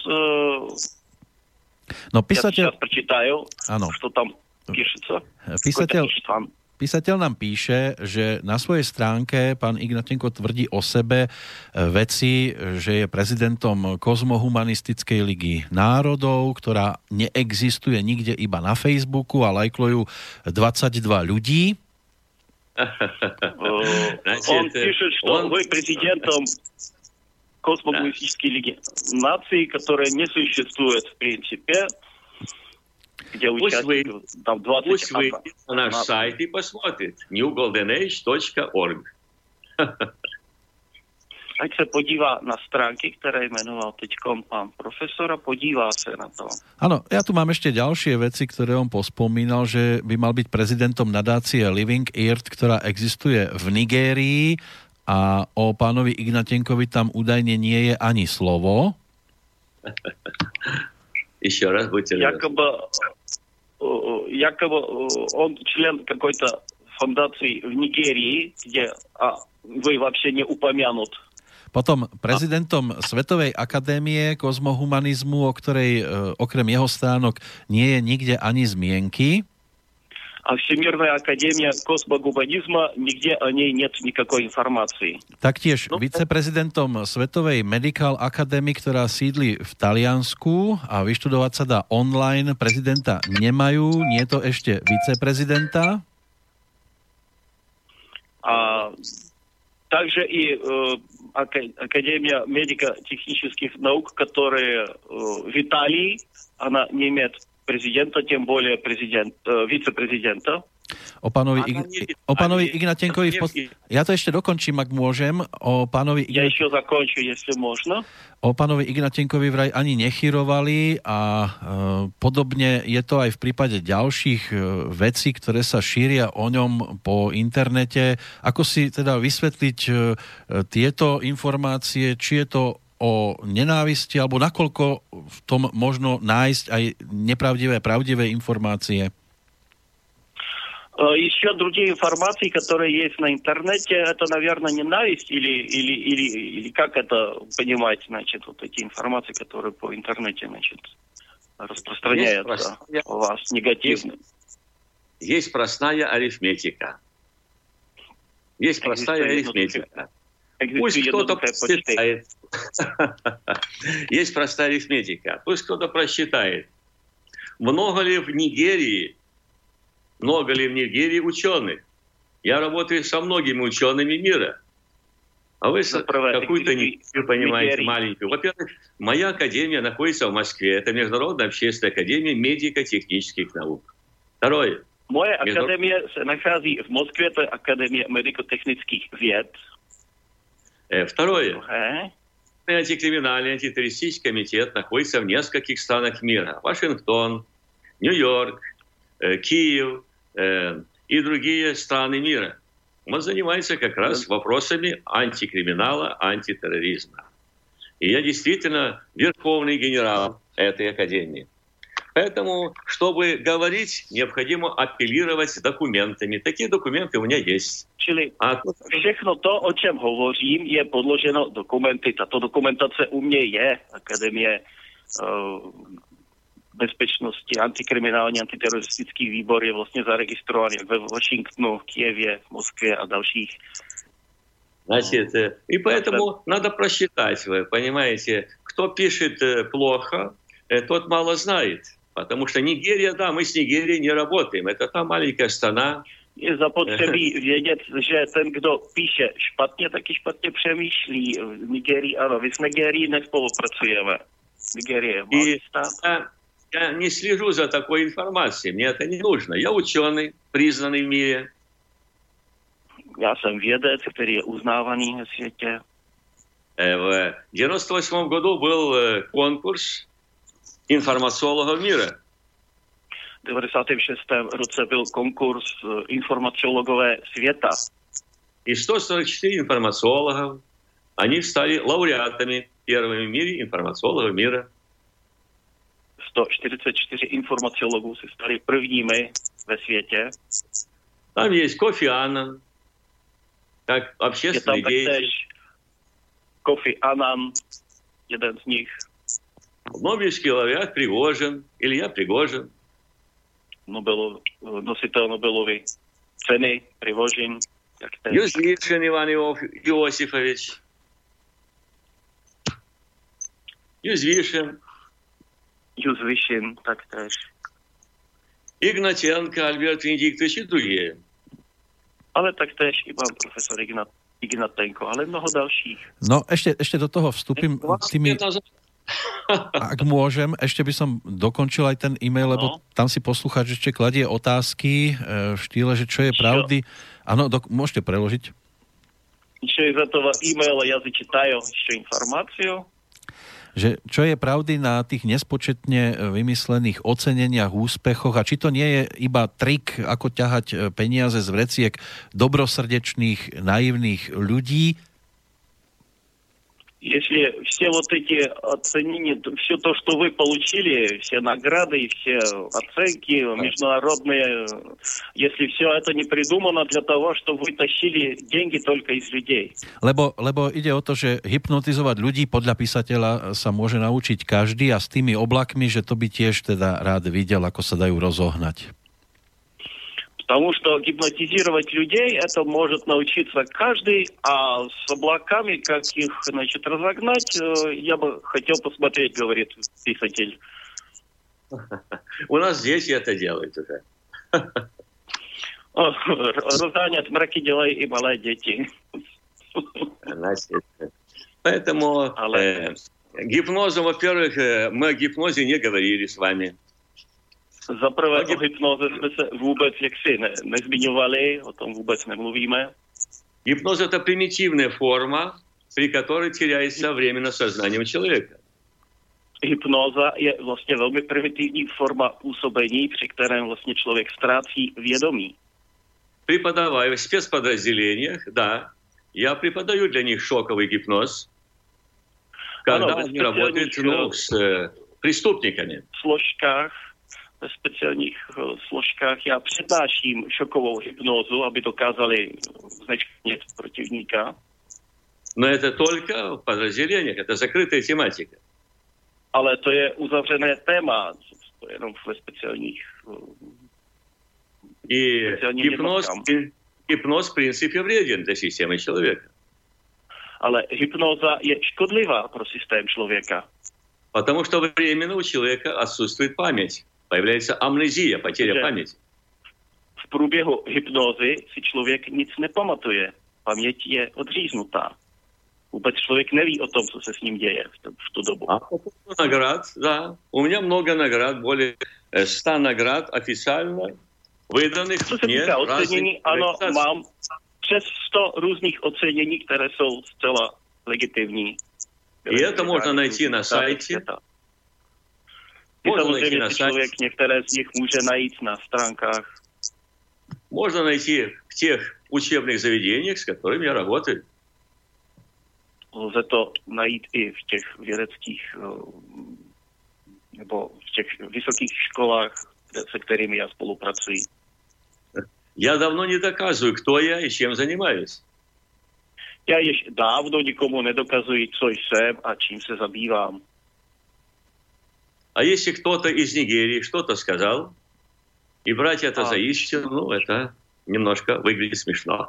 No, písateľ... Я сейчас прочитаю, что там píšeca. Písateľ nám píše, že na svojej stránke pán Ignatenko tvrdí o sebe veci, že je prezidentom Kozmohumanistickej ligy národov, ktorá neexistuje nikde, iba na Facebooku a lajklujú 22 ľudí. Он пишет, что вы президентом Космогуманистической лиги наций, которая не существует в принципе. Пусть вы на наш сайт и посмотрит newgoldenage.org. ať se podívá na stránky, ktoré jmenoval teďkom pán profesor a podívá sa na to. Áno, ja tu mám ešte ďalšie veci, ktoré on pospomínal, že by mal byť prezidentom nadácie Living Earth, ktorá existuje v Nigérii a o pánovi Ignatenkovi tam údajne nie je ani slovo. Еще раз будьте Якобы он член какой-то фундации в Нигерии, где вы вообще не упомянут. Potom prezidentom Svetovej akadémie kozmohumanizmu, o ktorej okrem jeho stránok nie je nikde ani zmienky. А Всемирная академия космогуманизма, нигде о ней нет никакой информации. Taktiež viceprezidentom Svetovej Medical Academy, ktorá sídli v Taliansku a vyštudovať sa dá online, prezidenta nemajú, nie je to ešte viceprezidenta. А также и Академия медико-технических наук, которая в Италии, она не имеет президента, тем более вице-президента. O pánovi Ignatenkovi... Ja to ešte dokončím, ak môžem. Ja ešte zakončím, jestli možno. O pánovi Ignatenkovi vraj ani nechyrovali a podobne je to aj v prípade ďalších vecí, ktoré sa šíria o ňom po internete. Ako si teda vysvetliť tieto informácie, či je to o nenávisti, alebo nakoľko v tom možno nájsť aj nepravdivé, правдивые информации? Еще другие информации, которые есть на интернете, это, наверное, ненависть или как это понимать, значит, вот эти информации, которые по интернете, значит, распространяются у вас негативно. Есть простая арифметика. Есть простая арифметика. Пусть кто-то просчитает. Есть простая арифметика. Пусть кто-то просчитает. Много ли в Нигерии ученых? Я работаю со многими учеными мира. А вы какую-то Нигерию понимаете маленькую. Во-первых, моя академия находится в Москве. Это Международная общественная академия медико-технических наук. Второе. Моя академия находится в Москве. Это Академия медико-технических вед. Второе. Антикриминальный антитеррористический комитет находится в нескольких странах мира. Вашингтон, Нью-Йорк, Киев и другие страны мира. Он занимается как раз вопросами антикриминала, антитерроризма. И я действительно верховный генерал этой академии. Поэтому, чтобы говорить, необходимо апеллировать документами. Такие документы у меня есть. Čili všechno to, o čem hovořím, je podloženo dokumenty. Tato dokumentace u mě je. Akademie bezpečnosti, antikriminální, antiteroristický výbor je vlastně zaregistrovaný ve Washingtonu, Kijevě, Moskvě a dalších. Значит, и поэтому надо просчитать, вы понимаете, кто пишет плохо, тот мало знает. Потому что Нигерия, да, мы с Нигерией не работаем. Это та маленькая страна. Je zapotřebí vědět, že ten, kdo píše špatně, taky špatně přemýšlí. V Nigerii, ano, vy s Nigerií nespolupracujeme. Nigerie je malý stát. Я не слежу за такой информацией, мне это не нужно. Я ученый, признанный в мире. Já jsem vědec, který je uznávaný ve světě. В 98 году был конкурс информациологов мира. V 96. roce byl konkurs informaciologové světa. И 144 информациологов, они стали лауреатами первыми в мире информациологов мира. 144 informaciologů se stali prvními ve světě. Там есть Кофи Аннан, как общественный деятель. Kofi Annan, jeden z nich. Нобелевский лауреат Пригожин, Илья Пригожин. Nositel Nobelovy ceny Prigožin. Юзвишин Иван Иосифович. Юзвишин, taktéž. Игнатенко, Альберт Венедиктович и другие. Ale taktéž i pán profesor Ignatenko, ale mnoho dalších. No, ešte do toho vstúpim tými... Ak môžem, ešte by som dokončil aj ten e-mail, lebo tam si poslucháč ešte kladie otázky v štýle, že čo je pravdy. Áno, môžete preložiť. через этого имейла я зачитаю еще информацию. Že čo je pravdy na tých nespočetne vymyslených oceneniach, úspechoch a či to nie je iba trik, ako ťahať peniaze z vreciek dobrosrdečných, naivných ľudí? Если все вот эти оценения, все то, что вы получили, все награды, все оценки международные, если все это не придумано для того, чтобы вы тащили деньги только из людей. Lebo ide o to, že hypnotizovať ľudí podľa písateľa sa môže naučiť každý a s tými oblakmi, že to by tiež teda rád videl, ako sa dajú rozohnať. Потому что гипнотизировать людей это может научиться каждый, а с облаками, как их, значит, разогнать, я бы хотел посмотреть, говорит писатель. У нас дети это делают уже. Разгонят мраки дела и малые дети. Поэтому гипнозом, во-первых, мы о гипнозе не говорили с вами. Za prvé o hypnoze jsme se vůbec jaksi nezmiňovali, o tom vůbec nemluvíme. Гипноз – это примитивная форма, при которой теряется временно сознание человека. Hypnoza je vlastně velmi primitivní forma působení, při kterém vlastně člověk ztrácí vědomí. Преподавая в спецподразделениях, да, я преподаю для них шоковый гипноз, когда они работают с преступниками. Ve speciálních složkách já přednáším šokovou hypnózu, aby dokázali znečknit protivníka. Но это только в подразделениях, это закрытая тематика. Ale to je uzavřené téma, to je jenom ve speciálních И гипноз в принципе вреден для системы человека. Ale hypnóza je škodlivá pro systém člověka. Потому что временно у человека отсутствует память. Появляется амнезия, потеря памяти. V průběhu hypnózy si člověk nic nepamatuje. Paměť je odříznutá. Vůbec člověk neví o tom, co se s ním děje v tu dobu. А по поводу наград, да. У меня много наград, более 100 наград официально выданных. Co se týká ocenění, ano, mám přes 100 různých ocenění, které jsou zcela legitimní. И это можно найти на сайте. Samozřejmě si člověk některé z nich může najít na stránkách. Можно найти в тех учебных заведениях, с которыми я работаю. Lze to najít i v těch vědeckých nebo v těch vysokých školách, se kterými já spolupracuji. Я давно не доказываю, кто я и чем занимаюсь. Já již dávno nikomu nedokazuji, co jsem a čím se zabývám. А если кто-то из Нигерии что-то сказал, и брать это за истину, ну, это немножко выглядит смешно.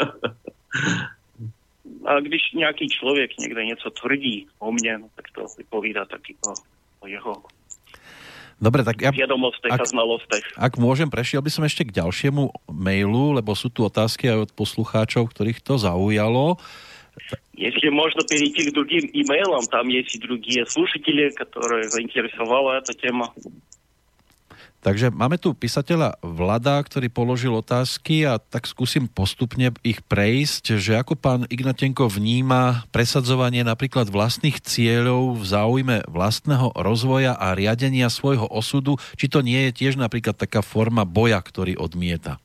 A když nějaký člověk někde něco tvrdí o mně, no, tak to vypovídá taky o jeho Dobre, tak ja, vedomostech a znalostech. Ak môžem, prešiel by som ešte k ďalšiemu mailu, lebo sú tu otázky aj od poslucháčov, ktorých to zaujalo. Если можно перейти к другим имейлам, там есть и другие слушатели, которые заинтересовала эта тема. Takže máme tu písateľa Vlada, ktorý položil otázky a tak skúsim postupne ich prejsť, že ako pán Ignatenko vníma presadzovanie napríklad vlastných cieľov v záujme vlastného rozvoja a riadenia svojho osudu, či to nie je tiež napríklad taká forma boja, ktorý odmieta?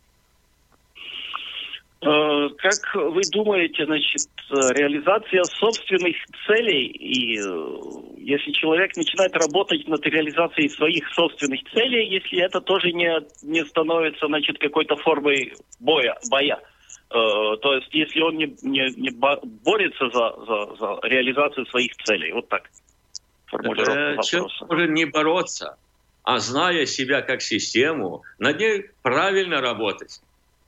Как вы думаете, значит, реализация собственных целей, и если человек начинает работать над реализацией своих собственных целей, если это тоже не становится, значит, какой-то формой боя, то есть если он не борется за реализацию своих целей, вот так формулировка вопроса. Человек может не бороться, а зная себя как систему, над ней правильно работать.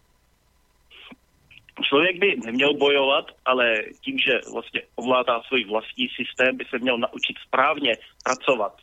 Člověk by neměl bojovat, ale tím, že vlastně ovládá svůj vlastní systém, by se měl naučit správně pracovat.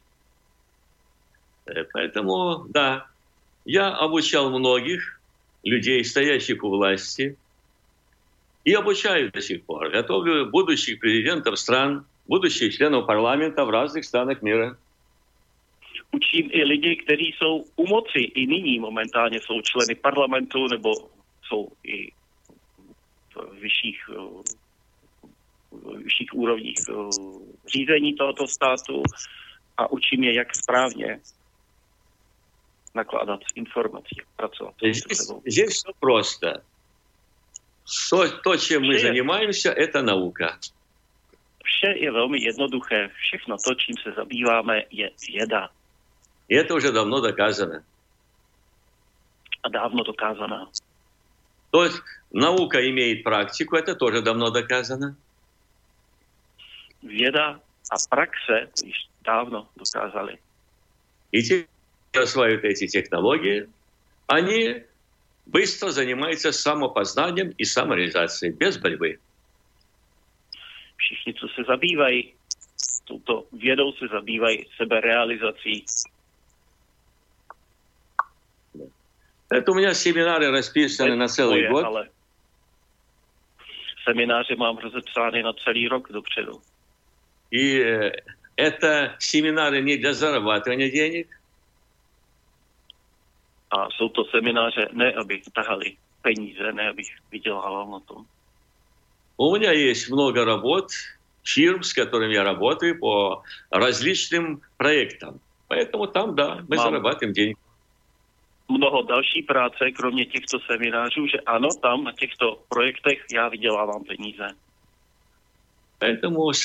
Поэтому, да, я обучал многих людей, стоящих у власти, и обучаю до сих пор. Готовлю будущих президентов стран, будущих членов парламента в разных странах мира. Učím i lidi, kteří jsou u moci, i nyní momentálně jsou členy parlamentu, nebo jsou i v vyšších úrovních řízení tohoto státu a učím je, jak správně nakládat s informací, pracovat. Здесь все просто. То, чем мы занимаемся, это наука. Vše je velmi jednoduché. Všechno to, čím se zabýváme, je věda. И это уже давно доказано. A dávno dokázaná. То есть наука имеет практику, это тоже давно доказано. Věda a praxe to již dávno dokázali. И те, кто осваивают эти технологии, они быстро занимаются самопознанием и самореализацией, без борьбы. Všichni, co se zabývají touto vědou, se zabývají seberealizací. Это у меня семинары расписаны на целый год. Ale semináře mám rozepsány na celý rok dopředu. И это семинары не для зарабатывания денег. A jsou to semináře ne, abych tahali peníze, ne, abych vydělával na tom. У меня есть много работ, фирм, с которыми я работаю по различным проектам. Поэтому там, да, мы зарабатываем деньги. Mnoho další práce, kromě těchto seminářů, že ano, tam na těchto projektech já vydělávám peníze. Поэтому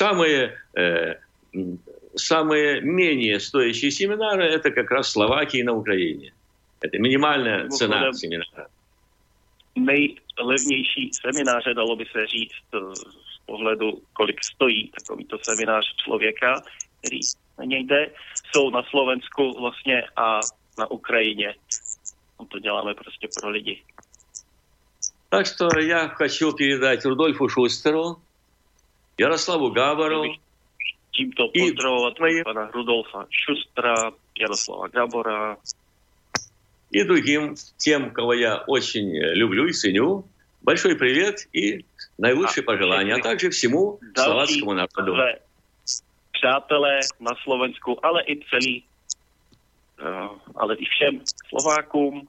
самые менее стоящие семинары это как раз в Словакии и на Украине. Это минимальная цена семинара. Nejlevnější semináře, dalo by se říct z pohledu, kolik stojí takovýto seminář člověka, který na něj jde, jsou na Slovensku vlastně a na Ukrajině. To děláme prostě pro lidi. Так что я хочу передать Рудольфу Шустеру, Ярославу Габору tímto pozdravovat pana Rudolfa Šustra, Jaroslava Gabora и другим, тем, кого я очень люблю и ценю. Большой привет и наилучшие пожелания, а также всему словацkému národu. Přátelé na Slovensku, ale i všem Slovákům.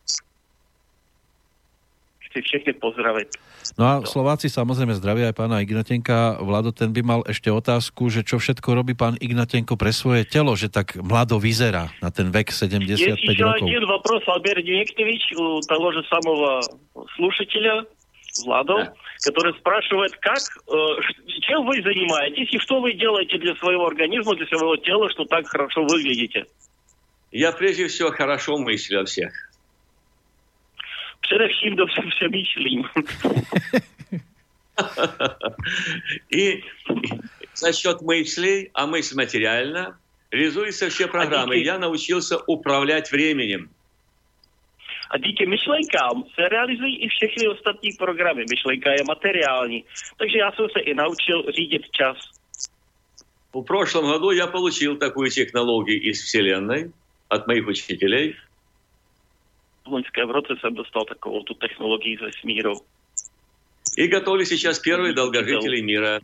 Chci všechny pozdravit. No a Slováci samozrejme zdravia aj pána Ignatenka. Vlado, ten by mal ešte otázku, že čo všetko robí pán Ignatenko pre svoje telo, že tak mlado vyzerá na ten vek 75 Есть rokov. Есть один вопрос, Альберт Дмитриевич, у того же самого слушателя, Владо, который спрашивает, чем вы занимаетесь и что вы делаете для своего организма, для своего тела, что так хорошо выглядите? Я прежде всего хорошо мыслю о всех. Především dobře přemýšlím. И за счет мыслей, а мысль материальна, реализуются все программы. Я научился управлять временем. A díky myšlenkám se realizují i všechny ostatní programy. Myšlenka je materiální. Takže já jsem se i naučil řídit čas. В прошлом году я получил такую технологию из Вселенной от моих учителей. V loňském roce jsem dostal takovou tu technologii ze vesmíru. И готовлю сейчас первые долгожителей мира.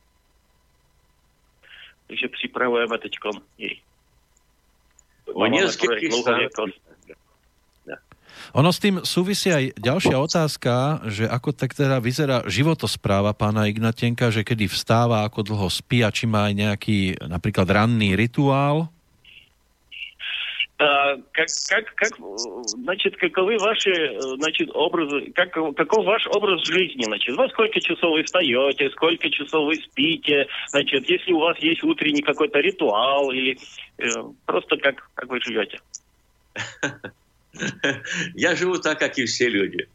Takže připravujeme teďkom jej. V neskôrých Ono s tým súvisí aj ďalšia otázka, že ako tak teda vyzerá životospráva pána Ignatenka, že kedy vstáva, ako dlho spí a či má aj nejaký napríklad ranný rituál? Значит, каковы ваши, образы, каков ваш образ жизни, во сколько часов вы встаете, сколько часов вы спите, если у вас есть утренний какой-то ритуал, или просто как вы живете? Я живу так, как и все люди.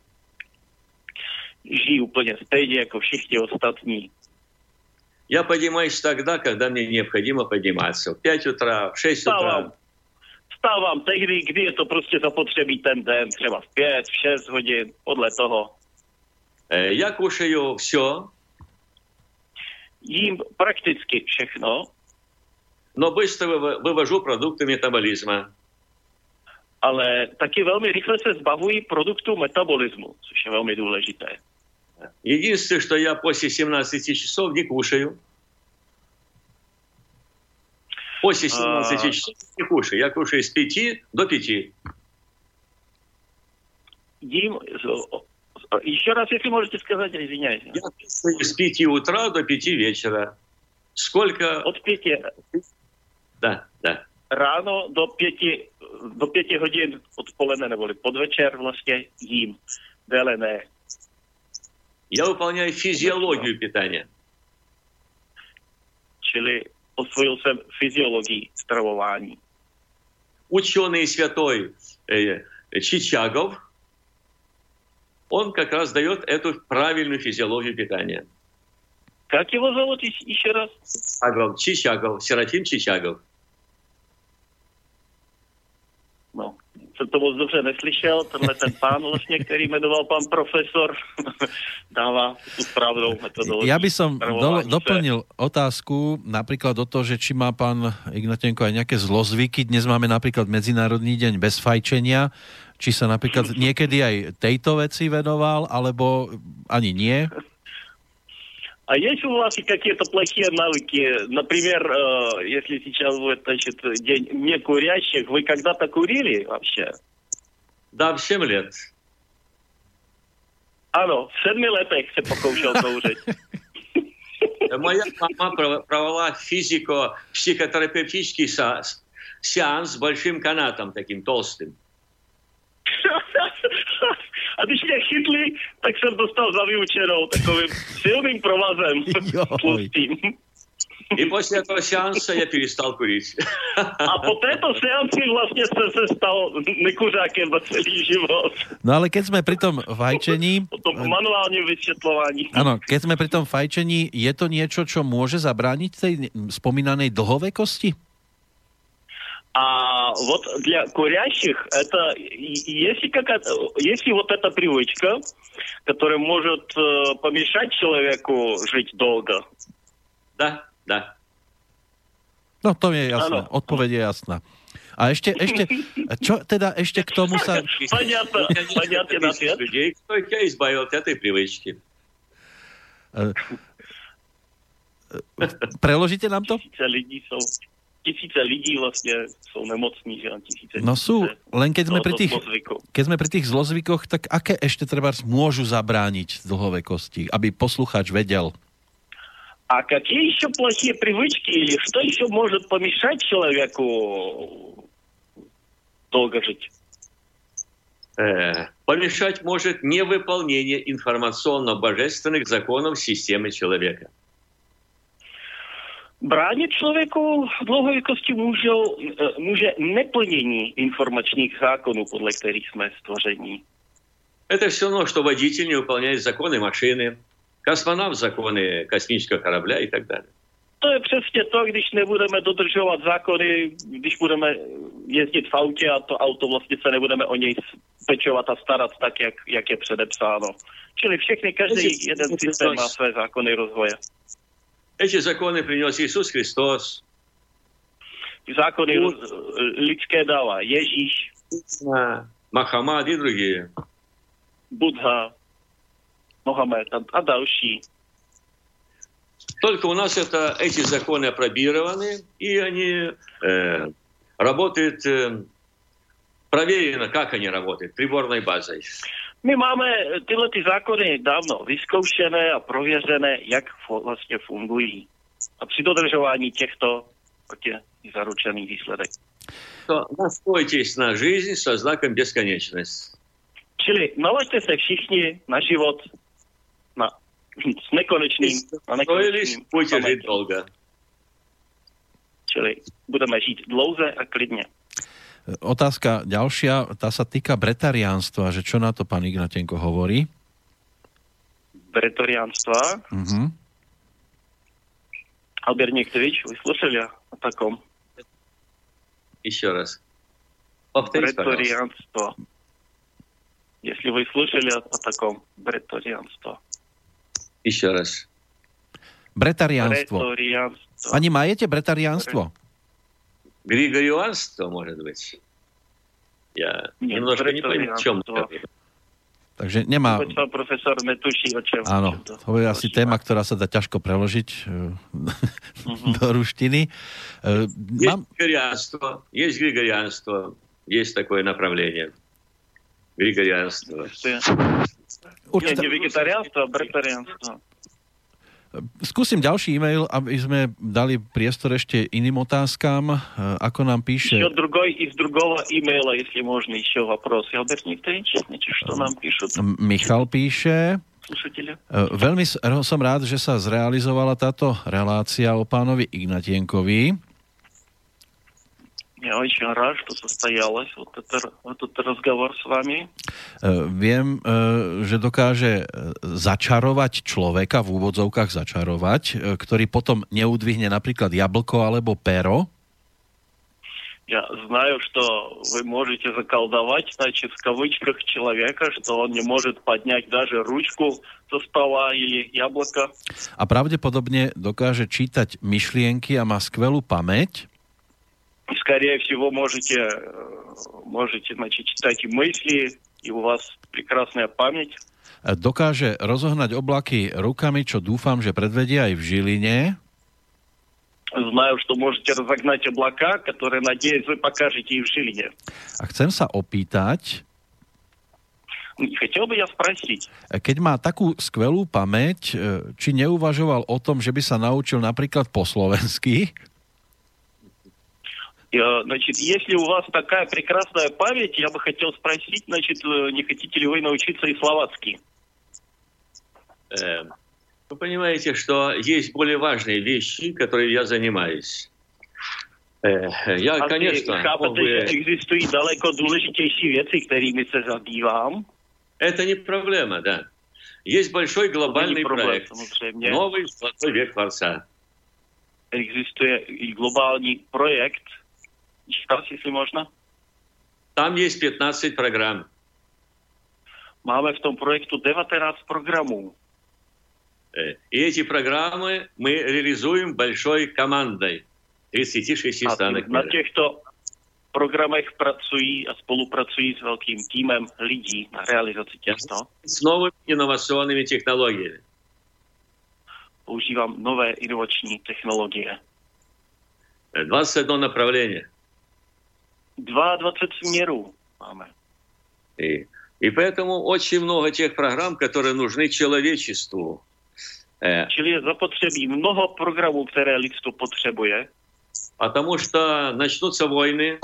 Žiju úplně stejně jako všichni ostatní. Я поднимаюсь тогда, когда мне необходимо подниматься. В 5 утра, в 6 утра. Vstávám tehdy, kdy je to prostě zapotřebí ten den, třeba v 5, v 6 hodin, podle toho. Я кушаю все. Jím prakticky všechno. Но быстро вывожу продукты метаболизма. Ale taky velmi rychle se zbavují produktů metabolismu, což je velmi důležité. Единственное, что я после 17 часов не кушаю. После 17 часов не кушаю. Я кушаю с 5 до 5. Jím Еще раз, если можете сказать, извиняюсь. Я с 5 утра до 5 вечера. Сколько? От 5. Да. Ráno do 5 hodin odpoledne neboli podvečer vlastně jím. Déle ne. Я выполняю физиологию питания. Čili osvojil jsem fyziologii stravování. Ученый святой Чичагов, он как раз дает эту правильную физиологию питания. Как его зовут еще раз? Чичагов, Серафим Чичагов. No, jsem to moc dobře neslyšel. Tenhle ten pán vlastně, který jmenoval pan profesor, dává tú správnou metodológiu. Ja by som doplnil otázku napríklad o to, že či má pán Ignatenko aj nejaké zlozvyky. Dnes máme napríklad Medzinárodný deň bez fajčenia. Či sa napríklad niekedy aj tejto veci venoval, alebo ani nie? А есть у вас какие-то плохие навыки? Например, если сейчас будет, значит, день некурящих, вы когда-то курили вообще? Да, в 7 лет. Ano, v 7 letech se pokoušel kouřit. Моя мама провела физико-психотерапевтический сеанс с большим канатом, таким толстым. A když mě chytli, tak jsem dostal za vyučenou takovým silným provazem tlustým. И после этого сеанса я перестал курить. A po této seanci vlastně jsem se stal nekuřákem na celý život. No ale keď sme pri tom fajčení... O tom manuálním vysvetľovaní. Áno, keď sme pri tom fajčení, je to niečo, čo môže zabrániť tej spomínanej dlhovekosti? А вот для курящих это если вот эта привычка, которая может помешать человеку жить долго. Да. No to je jasné, odpoveď je jasná. A ešte, čo teda ešte k tomu sa... Понятно ответ. Людей, кто тебя избавил от этой привычки. Preložíte nám to? Tisíce lidí vlastne sú nemocní, že tisíce. No sú, len keď sme pri tých zlozvykoch, tak aké ešte trebárs môžu zabrániť dlhovekosti, aby poslucháč vedel? А какие еще плохие привычки или что еще может помешать человеку долго жить? Помешать может невыполнение информационно-божественных законов системы человека. Bránit člověku dlouhověkosti může neplnění informačních zákonů, podle kterých jsme stvoření. Это все равно, что водитель не выполняет законы машины, космонавт законы космического корабля и так далее. To je přesně to, když nebudeme dodržovat zákony, když budeme jezdit v autě a to auto vlastně se nebudeme o něj pečovat a starat tak, jak je předepsáno. Čili každý jeden systém má své zákony rozvoje. Эти законы принес Иисус Христос. Zákony lidské dává Ježíš, Мохаммад и другие. Buddha, Mohamed a další. Только у нас эти законы опробированы, и они работают проверено, как они работают, приборной базой. My máme tyhle ty zákony dávno vyzkoušené a prověřené, jak vlastně fungují. A při dodržování těchto je zaručený výsledek. To naspojitесь на жизнь со знаком бесконечность. Čili nalaďte se všichni na život s nekonečným a nekonečným. Budete žít dlouho. Čili budeme žít dlouze a klidně. Otázka ďalšia, tá sa týka bretariánstva, že čo na to pán Ignatenko hovorí? Бретарианство? Угу. Albert Niektovič, вы слышали о таком? Еще раз. Повторите, бретарианство. Если вы слышали о таком бретарианство. Еще раз. Bretariánstvo. Ani majete bretariánstvo? Григорианство, может быть. Я немножко не понимаю, в чем это. Takže nemá... Profesor netuší, o čem. Áno, to je asi téma, ktorá sa dá ťažko preložiť do ruštiny. Есть григорианство, есть такое направление. Григорианство. Nie vegetariánstvo, a bretariánstvo. Skúsim ďalší e-mail, aby sme dali priestor ešte iným otázkám. Ako nám píše... Еще другой из другого имейла, если можно, еще вопрос. Albert Никитович, что нам пишут? Michal píše... Слушатели. Veľmi som rád, že sa zrealizovala táto relácia o pánovi Ignatienkovi. Я очень рад, что состоялось этот разговор с вами. Viem, že dokáže začarovať človeka, v úvodzovkách začarovať, ktorý potom neudvihne napríklad jablko alebo pero. Я знаю, что вы можете заколдовать, значит, в кавычках человека, что он не может поднять даже ручку со стола или яблоко. A pravdepodobne dokáže čítať myšlienky a má skvelú pamäť. Скорее всего, можете, значит, читать и мысли, и у вас прекрасная память. Dokáže rozohnať oblaky rukami, čo dúfam, že predvedia aj v Žiline. Знаю, что можете разогнать облака, которые, надеюсь, вы покажете и в Жилине. A chcem sa opýtať, Хотел бы я спросить. keď má takú skvelú pamäť, či neuvažoval o tom, že by sa naučil napríklad po slovensky? Значит, если у вас такая прекрасная память, я бы хотел спросить, значит, не хотите ли вы научиться и словацки? Вы понимаете, что есть более важные вещи, которые я занимаюсь. Я, конечно... Chápete, že existují daleko důležitější věci, kterými se zabývám? Это не проблема, да. Есть большой глобальный проект. Новый золотой век Творца. Existuje i globální projekt. Čítal, jestli možno? Там есть 15 программ. Máme v tom projektu 19 programů. И эти программы мы реализуем большой командой 36 стран. Na těchto programech pracují a spolupracují s velkým týmem lidí na realizaci těchto. С новыми инновационными технологиями. Používám nové inovační technologie. 21 направление. 22 směrů máme. И поэтому очень много тех программ, которые нужны человечеству. Čili je zapotřebí mnoho programů, které lidstvo potřebuje. Потому что начнутся войны,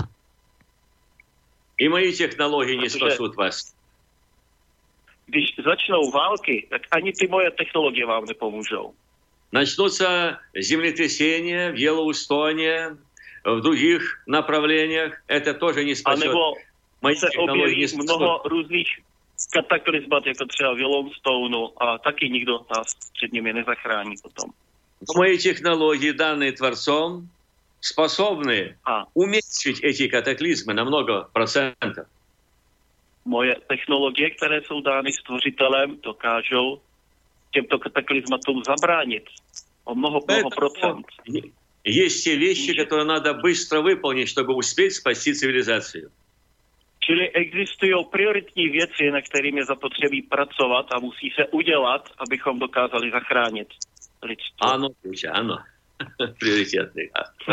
и мои технологии не спасут вас. Když začnou války, tak ani ty moje technologie vám nepomůžou. Начнутся землетрясения в Йеллоустоне, в других направлениях. Это тоже не спасет. Anebo se objeví mnoho různých kataklizmat, jako třeba v Yellowstoneu, a taky nikdo nás před nimi nezachrání potom. Мои технологии, данные Творцом, способны уменьшить эти катаклизмы на много процентов. Moje technologie, které jsou dány Stvořitelem, dokážou těmto kataklizmatům zabránit o mnoho procent. Есть те вещи, которые надо быстро выполнить, чтобы успеть спасти цивилизацию. Čili existují prioritní věci, na kterými je zapotřebí pracovat a musí se udělat, abychom dokázali zachránit lidstvo. Áno. Prioritетný.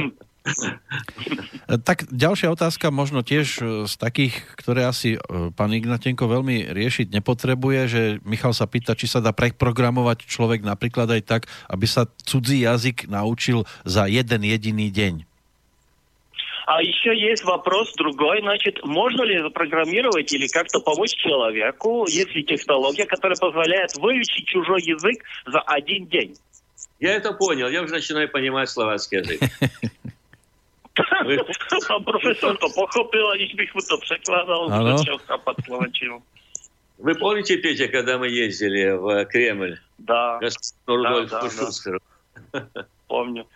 Tak ďalšia otázka, možno tiež z takých, ktoré asi pán Ignatenko veľmi riešiť nepotrebuje, že Michal sa pýta, či sa dá preprogramovať človek napríklad aj tak, aby sa cudzí jazyk naučil za jeden jediný deň. А еще есть вопрос другой, значит, можно ли запрограммировать или как-то помочь человеку, если технология, которая позволяет выучить чужой язык за один день? Я это понял, я уже начинаю понимать словацкий язык. Pan profesor to pochopil, aniž bych mu to překládal, začal chápat slovenčinu. Вы помните, Петя, когда мы ездили в Кремль? Да. Господину Рудольфу Шустеру. Помню.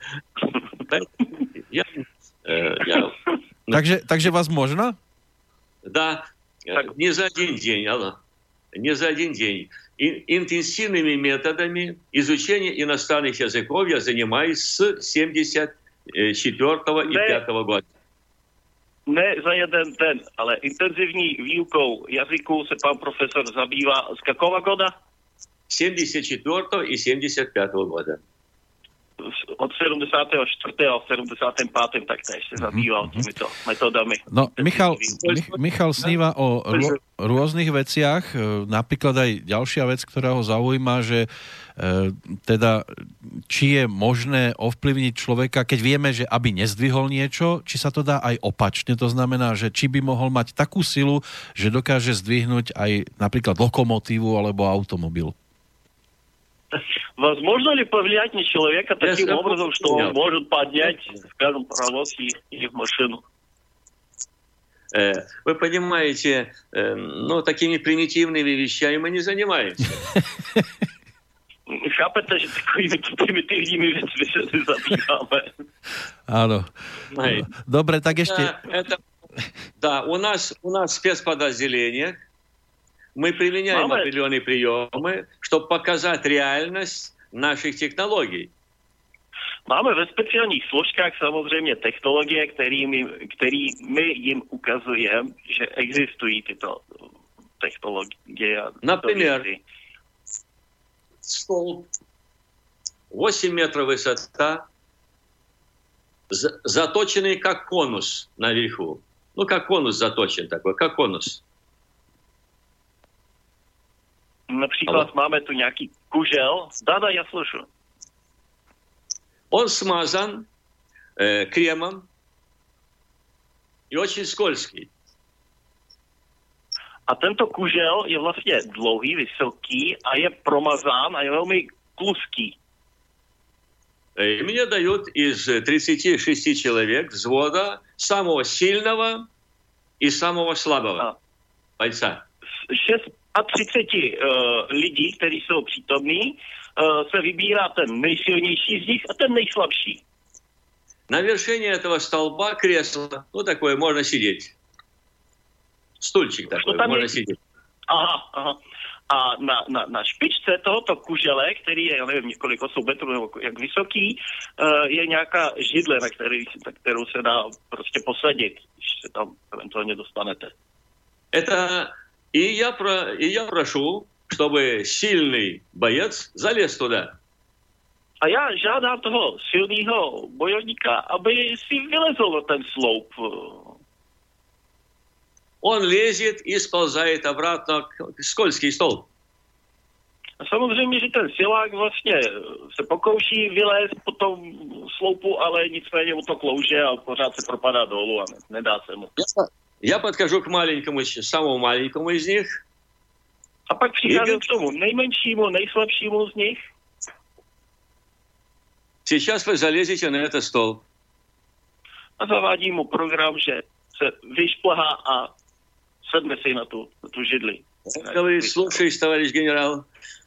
Takže vás можно? Да, не за один день, не за один день. Интенсивными методами изучения иностранных языков я занимаюсь с 74-го и 5-го года. Ne za jeden den, ale intenzivní výukou jazyků se pan profesor zabývá z какого года? 74-го и 75-го года. od 74. a 75. taktéž sa zabýval týmito metodami. No, Michal sníva o rôznych veciach, napríklad aj ďalšia vec, ktorá ho zaujíma, že teda či je možné ovplyvniť človeka, keď vieme, že aby nezdvihol niečo, či sa to dá aj opačne, to znamená, že či by mohol mať takú silu, že dokáže zdvihnúť aj napríklад lokomotívu alebo automobil. Возможно ли повлиять на человека таким образом, что он может поднять, скажем, паровоз и машину? Вы понимаете, такими примитивными вещами мы не занимаемся. Chápete, že takovými primitívnymi vecmi sa zabývame. Áno. Dobre, tak ešte... Да, у нас в спецподразделениях мы применяем определенные приемы, чтобы показать реальность наших технологий. Máme ve speciálnych složkách samozrejme technológie, ktorými im ukazujem, že existují tyto technológie. Например, столб 8 метров высота, заточенный как конус наверху. Ну, как конус заточен такой, как конус. Napríklad máme tu nejaký kužel. Да, я слышу. Он смазан кремом и очень скользкий. A tento kužel je vlastne dlouhý, vysoký a je promazán a je veľmi kluský. И мне дают из 36 человек взвода самого сильного и самого слабого бойца. 36 lidí, kteří jsou přítomní, se vybírá ten nejsilnější z nich a ten nejslabší. На вершине этого столба кресло, такое можно сидеть. Stůlčík takový, může sedět. Aha. A na špičce tohoto kužele, který je, já nevím, několik 8 metrů nebo jak vysoký, je nějaká židle, na kterou se dá prostě posadit, když se tam eventuálně dostanete. И я прошу, чтобы сильный боец залез туда. A já žádám toho silného bojovníka, aby si vylezl na ten sloup. Он лезет и сползает обратно в скользкий столб. A samozřejmě, že ten silák vlastně se pokouší vylézt po tom sloupu, ale nicméně mu to klouže a pořád se propadá dolů a nedá se mu. Я подхожу к самому маленькому из них. A pak přicházím k tomu nejmenšímu, nejslabšímu z nich. Сейчас вы залезете на этот столб. A zavádím mu program, že se vyšplhá a sedne si na tu židli. Слушай, товарищ генерал.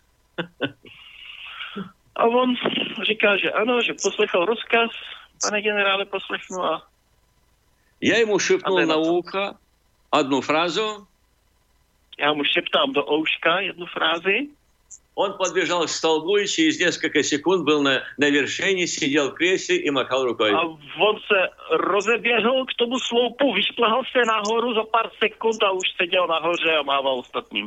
A on říká, že ano, že poslechl rozkaz, pane generále, poslechnu a... Я ему шепнул на ухо одну фразу. Já mu šeptám do ouška jednu frázi. Он подбежал к столбу и через несколько секунд был на вершине, сидел в кресле и махал рукой. A on se rozeběhl k tomu sloupu, vyšplhal se nahoru za pár sekund a už seděl nahoře a mával ostatním.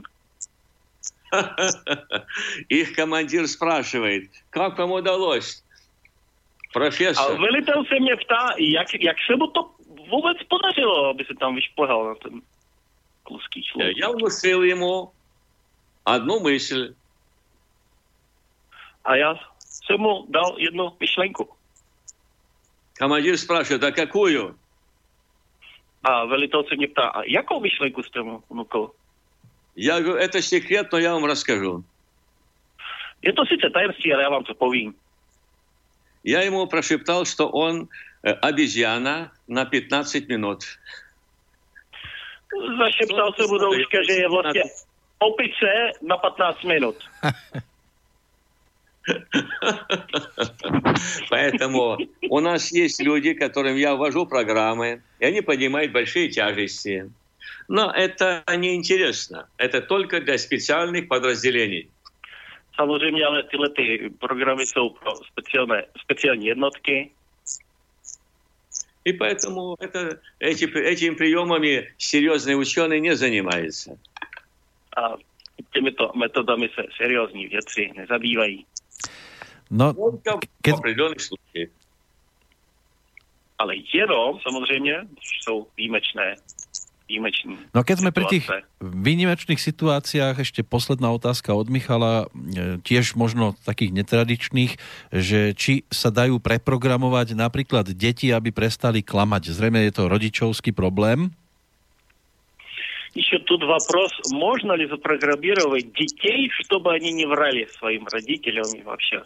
Их командир спрашивает, как вам удалось, профессор? A velitel se mě ptá, jak se mu to vůbec podařilo, aby se tam vyšplhal na ten kluský sloup. Я внушил ему одну мысль. A já jsem mu dal jednu myšlenku. Командир спрашивает, а какую? A velitel se mě ptá, a jakou myšlenku jste mu vnukl? Я говорю, это секрет, но я вам расскажу. Je to sice tajemství, ale já vám to povím. Я ему прошептал, что он обезьяна на 15 минут. Zašeptal jsem mu do uška, že je vlastně opice na 15 minut. Поэтому у нас есть люди, которым я ввожу программы, и они поднимают большие тяжести. Но это неинтересно. Это только для специальных подразделений. Samozřejmě, ale tyhle programy jsou pro speciální jednotky. И поэтому этими приемами серьезные ученые не занимаются. A těmito metodami se seriózní vědci nezabývají. No, v определенных случаях. Ale jenom, samozřejmě, jsou výjimečné. No keď sme pri tých výnimečných situáciách, ešte posledná otázka od Michala, tiež možno takých netradičných, že či sa dajú preprogramovať napríklad deti, aby prestali klamať. Zrejme je to rodičovský problém. Еще тут вопрос, можно ли запрограммировать детей, чтобы они не врали своим родителям и вообще?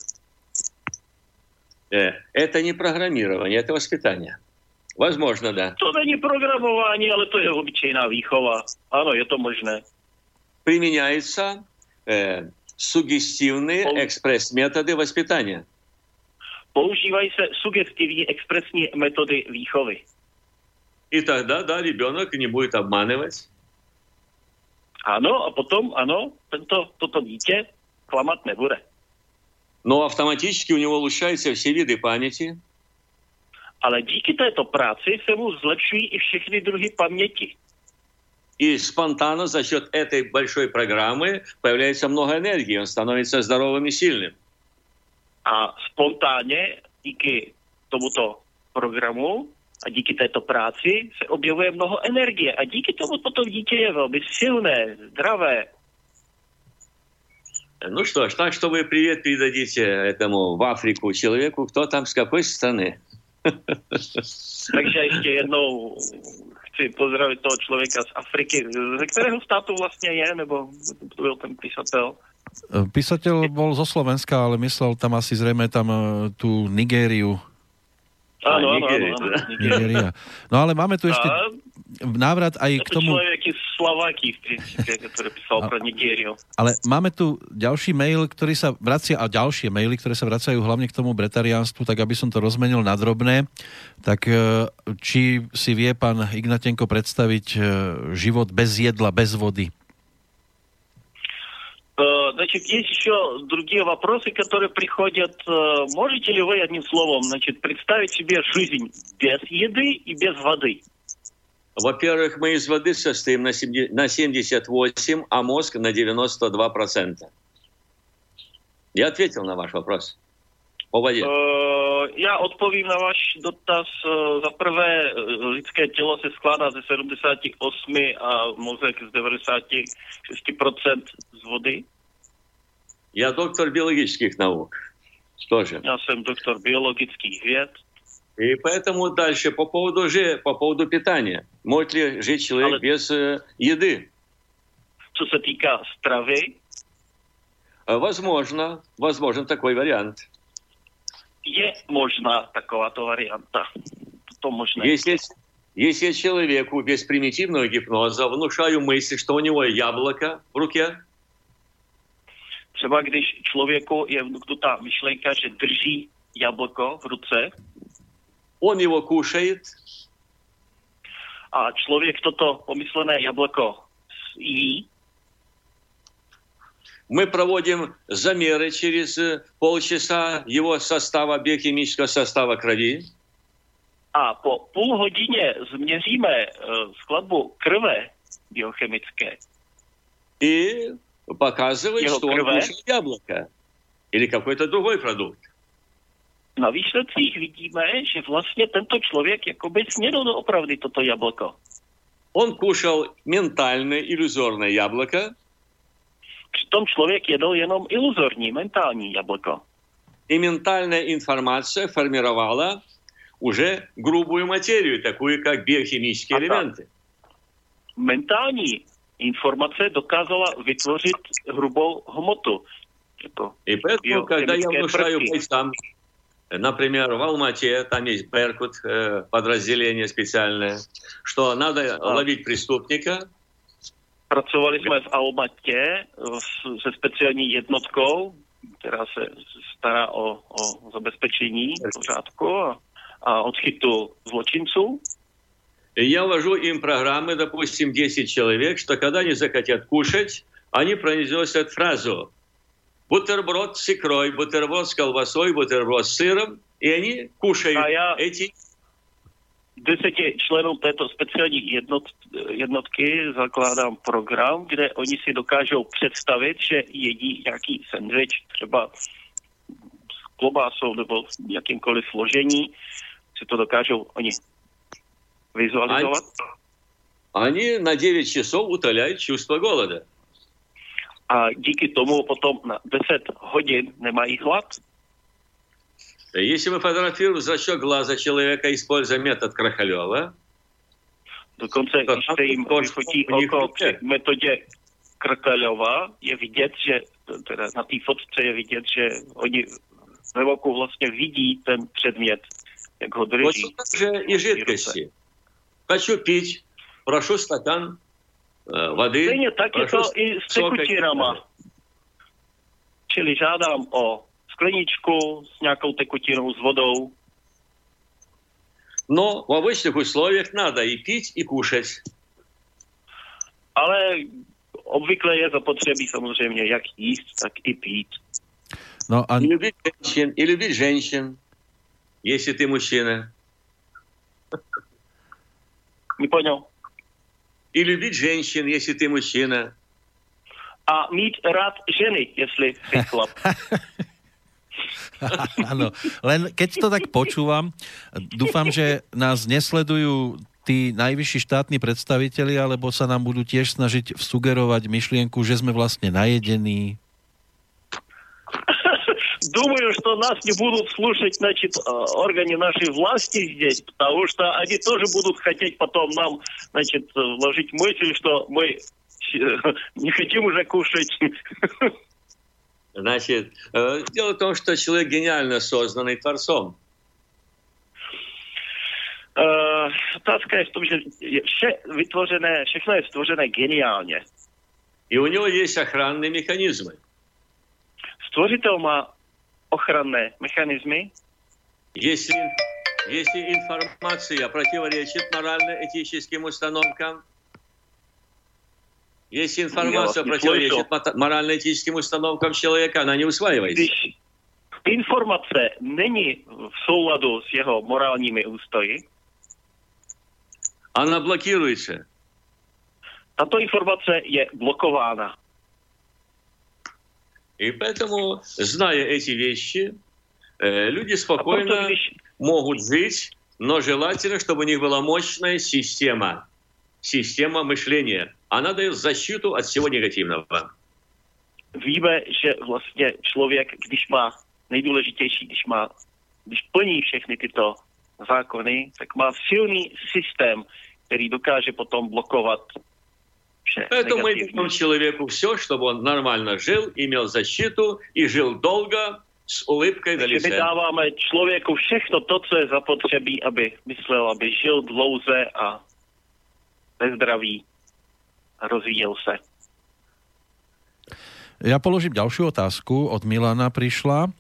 Это не программирование, это воспитание. Возможно, да. To není programování, ale to je obyčejná výchova. Ano, je to možné. Применяются сугестивные экспресс-методы воспитания. Používají se sugestivní expresní metody výchovy. И тогда, да, ребенок не будет обманывать. Ano, a potom, ano, toto dítě klamat nebude. Но автоматически у него улучшаются все виды памяти. Ale díky této práci se mu zlepšují i všechny druhy paměti. И спонтанно за счет этой большой программы появляется много энергии, он становится здоровым и сильным. A spontánně díky tomuto programu a díky této práci se objevuje mnoho energie. A díky tomu potom dítě je velmi silné, zdravé. Ну что ж, так что вы привет передадите этому в Африку человеку, кто там, с какой страны. Takže ještě jednou chci pozdravit toho člověka z Afriky. Ze kterého státu vlastně je, nebo to byl ten písatel? Písateľ bol zo Slovenska, ale myslel tam asi zrejme tam tú Nigériu. Áno. Nigéria. No ale máme tu ešte návrat aj k tomu... To človek je Slováky, v princípe, ktorý písal pro Nigériu. Ale máme tu ďalší mail, ktorý sa vracia, a ďalšie maily, ktoré sa vracajú hlavne k tomu bretariánstvu, tak aby som to rozmenil na drobné. Tak či si vie pán Ignatenko predstaviť život bez jedla, bez vody? Значит, есть еще другие вопросы, которые приходят. Можете ли вы одним словом, значит, представить себе жизнь без еды и без воды? Во-первых, мы из воды состоим на 78%, а мозг на 92%. Я ответил на ваш вопрос o vode. Já odpovím na váš dotaz. Za prvé, lidské tělo se skládá ze 78 a mozek z 96% z vody. Я доктор биологических наук. Тоже. Já jsem doktor biologických věd. И поэтому дальше по поводу питания. Может ли жить человек без еды? Co se týká stravy? Возможен такой вариант. Je možná takováto varianta. To možné. Если человеку без примитивного гипноза внушаю мысль, что у него яблоко в руке. Třeba když člověku je vnuknutá myšlenka, že drží jablko v ruce. Он его кушает. A člověk toto pomyslené jablko jí. Мы проводим замеры через полчаса его состава, биохимического состава крови. A po půl hodině změříme skladbu krve biochemické. И показывает, что он кушает яблоко или какой-то другой продукт. Na výsledcích vidíme, že vlastně tento člověk jakoby snědl doopravdy toto jablko. Он кушал ментальное, иллюзорное яблоко. Přitom člověk jedl jenom iluzorní, mentální jablko. И ментальная информация формировала уже грубую материю, такую как биохимические элементы. Mentální informace dokázala vytvořit hrubou hmotu. И поэтому, когда я внушаю бойцам, например, в Алмате, там есть Беркут, подразделение специальное, что надо ловить преступника. Pracovali jsme v Almatě se speciální jednotkou, která se stará o zabezpečení pořádku a odchytu zločinců. Я ввожу им программы, допустим, 10 человек, что когда они захотят кушать, они произносят фразу «бутерброд с икрой», «бутерброд с колбасой», «бутерброд с сыром», и они кушают эти... 10 členů této speciální jednotky zakládám program, kde oni si dokážou představit, že jedí nějaký sendvič třeba s klobásou nebo v jakýmkoliv složení, si to dokážou oni vizualizovat. Они на 9 часов утоляют чувство голода. A díky tomu potom na 10 hodin nemají hlad. Если мы фотографируем зрачок глаза человека, используя метод Крахалева, dokonce, když se jim vyfotí oko při metodě Krkalova, je vidět, že teda na té fotce je vidět, že oni ve oku vlastně vidí ten předmět, jak ho drží. Вот также и жидкости. Хочу пить, прошу стакан воды. Stejně tak je to i s tekutinama. Čili žádám o skleničku s nějakou tekutinou, s vodou. Но в обычных условиях надо и пить, и кушать. Ale obvykle je zapotřebí samozřejmě jak jíst, tak i pít. No a... И любить женщин, если ты мужчина. Не понял. И любить женщин, если ты мужчина. A mít rád ženy, jestli jsi chlap. Áno, len keď to tak počúvam, dúfam, že nás nesledujú tí najvyšší štátni predstavitelia, alebo sa nám budú tiež snažiť sugerovať myšlienku, že sme vlastne najedení. Думаю, что нас не будут слушать, значит, органы нашей власти здесь, потому что они тоже будут хотеть потом нам, значит, вложить мысль, что мы не хотим уже кушать. Значит, дело в том, что человек гениально созданный Творцом. Otázka je v tom, že všechno je stvořené geniálně. И у него есть охранные механизмы. Stvořitel má ochranné mechanismy. Если информация противоречит морально-этическим установкам, если информация противоречит морально-этическим установкам человека, она не усваивается. Když informace není v souladu s jeho morálními ústoji, она блокируется. Tato informace je blokována. И поэтому, зная эти вещи, люди спокойно могут жить, но желательно, чтобы у них была мощная система мышления. Она дает защиту от всего негативного. Víme, že vlastně člověk, když má nejdůležitější, když plní všechny tyto zákony, tak má silný systém, který dokáže potom blokovat vše Поэтому мы negativní. даем человеку все, чтобы он нормально жил, имел защиту и жил долго с улыбкой на Takže my лице. dáváme člověku všechno to, co je zapotřebí, aby myslel, aby žil dlouze a ve zdraví a rozvíjel se. Ja položím ďalšiu otázku. Od Milana prišla.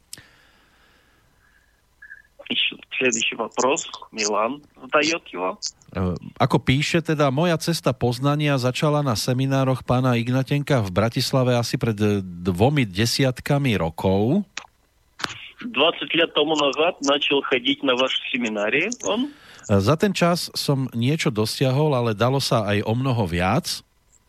Следующий вопрос. Милан задает его. Ako píše, teda moja cesta poznania začala na seminároch pána Ignatenka v Bratislave asi pred 2 desiatkami rokov. 20 лет тому назад начал ходить на ваш семинарий. Он? Za ten čas som niečo dosiahol, ale dalo sa aj o mnoho viac.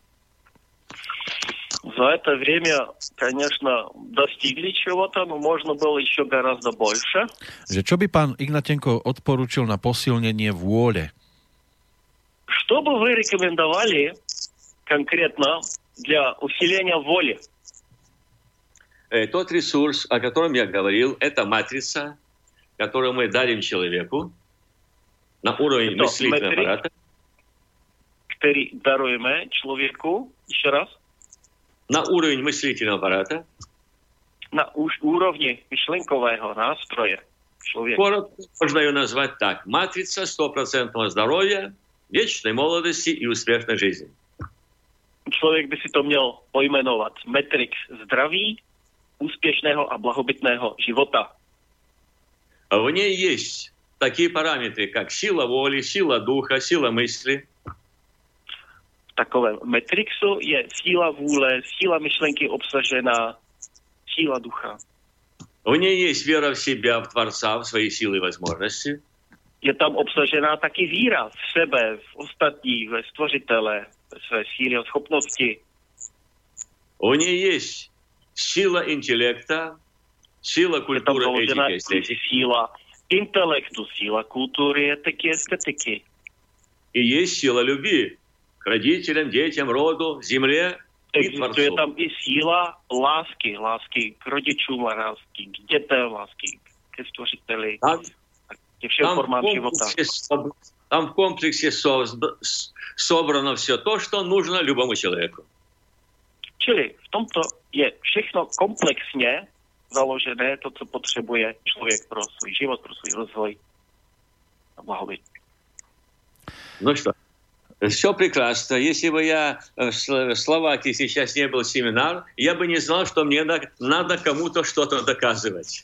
За это время, конечно, достигли чего-то, но можно было еще гораздо больше. Že čo by pán Ignatenko odporučil na posilnenie vôle? Что бы вы рекомендовали конкретно для усиления воли? Тот ресурс, о котором я говорил, это матрица, которую мы дарим человеку на уровень мыслительного аппарата. Который даруем человеку, еще раз. На уровень мыслительного аппарата. На уровне мышленкового настроя человека. Коротко можно ее назвать так. Матрица 100% здоровья, вечной молодости и успешной жизни. Člověk by si to měl pojmenovat Matrix zdraví, úspěšného a blahobytného života. В ней есть такие параметры, как сила воли, сила духа, сила мысли. V takovém Matrixu je síla vůle, síla myšlenky obsažená, síla ducha. В ней есть вера в себя, в Творца, в свои силы и возможности. Je tam obsažená taky víra v sebe, v ostatní, ve stvořitele, ve své síly a schopnosti. В ней есть сила интеллекта, Сила культуры, этики, эстетики. Сила интеллекту, сила культуры, этики, эстетики. И есть сила любви к родителям, детям, роду, земле и Творцу. Там и сила ласки к родичам, ласки к детям, ласки к Створителю, ко всем формам живота. Там в комплексе собрано все то, что нужно любому человеку. Čili v tomto je všechno komplexně založené, to, co potřebuje člověk pro svůj život, pro svůj rozvoj a blahobyt. Ну что, все прекрасно. Если бы я в Словакии сейчас не был семинар, я бы не знал, что мне надо кому-то что-то доказывать.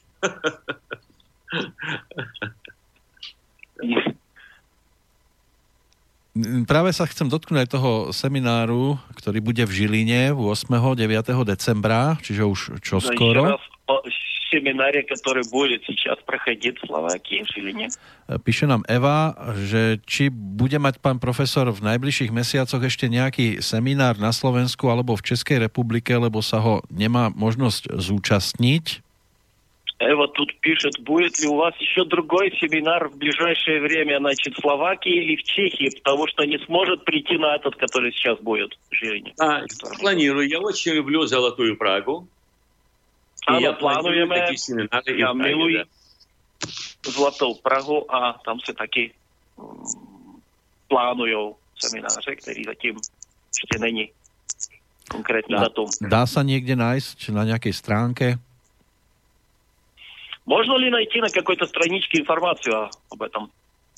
Práve sa chcem dotknúť aj toho semináru, ktorý bude v Žiline 8. 9. decembra, čiže už čoskoro. Семинаре, который будет сейчас проходить в Словакии, в Žiline. Píše nám Eva, že či bude mať pán profesor v najbližších mesiacoch ešte nejaký seminár na Slovensku alebo v Českej republike, lebo sa ho nemá možnosť zúčastniť. Эва тут пишет, будет ли у вас еще другой семинар в ближайшее время, значит, в Словакии или в Чехии, потому что не сможет прийти на этот, который сейчас будет в Žiline. Планирую. Я очень люблю Золотую Прагу. Áno, plánujeme. Ja miluji Zlatou Prahu a tam sa taky plánujú semináře, ktorý zatím ešte není konkrétny datum. Dá sa niekde nájsť na nejakej stránke? Можно ли найти на какой-то страничке информацию об этом?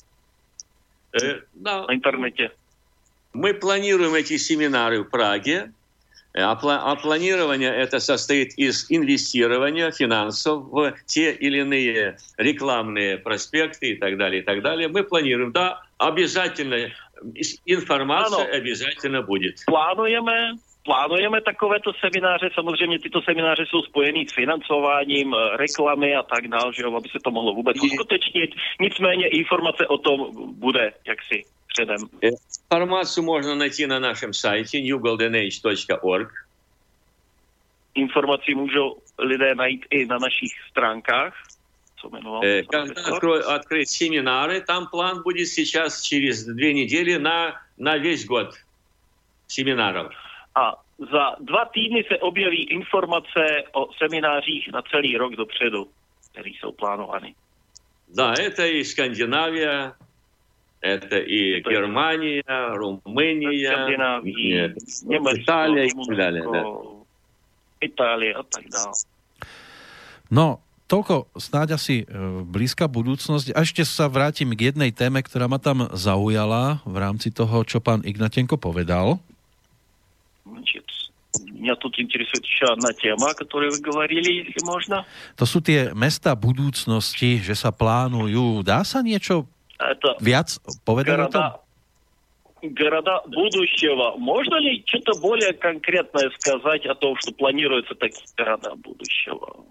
На интернете. Мы планируем эти семинары в Праге. А планирование это состоит из инвестирования финансов в те или иные рекламные проспекты и так далее, и так далее. Мы планируем, да, обязательно, информация обязательно будет. Plánujeme takovéto semináře, samozřejmě tyto semináře jsou spojený s financováním, reklamy a tak dále, že aby se to mohlo vůbec uskutečnit. Nicméně informace o tom bude jaksi předem. Информацию можно найти на нашем сайте newgoldenage.org. Informaci můžou lidé najít i na našich stránkách. Когда открыть семинары, там план будет сейчас через 2 недели на весь год семинаров. A za 2 týdny se objeví informace o seminářích na celý rok dopředu, které jsou plánovány. Да, это и Скандинавия, это и Германия, Румыния, Италия и так далее. Itálie a tak dále. No, toľko snáď asi blízka budúcnosť. A ešte sa vrátim k jednej téme, ktorá ma tam zaujala v rámci toho, čo pán Ignatenko povedal. Значит, меня тут интересует еще одна тема, о которой вы говорили, если можно. To sú tie mesta budúcnosti, že sa plánujú. Dá sa niečo viac povedať o tom? Города будущего. Можно ли что-то более конкретное сказать о том, что планируются такие города будущего?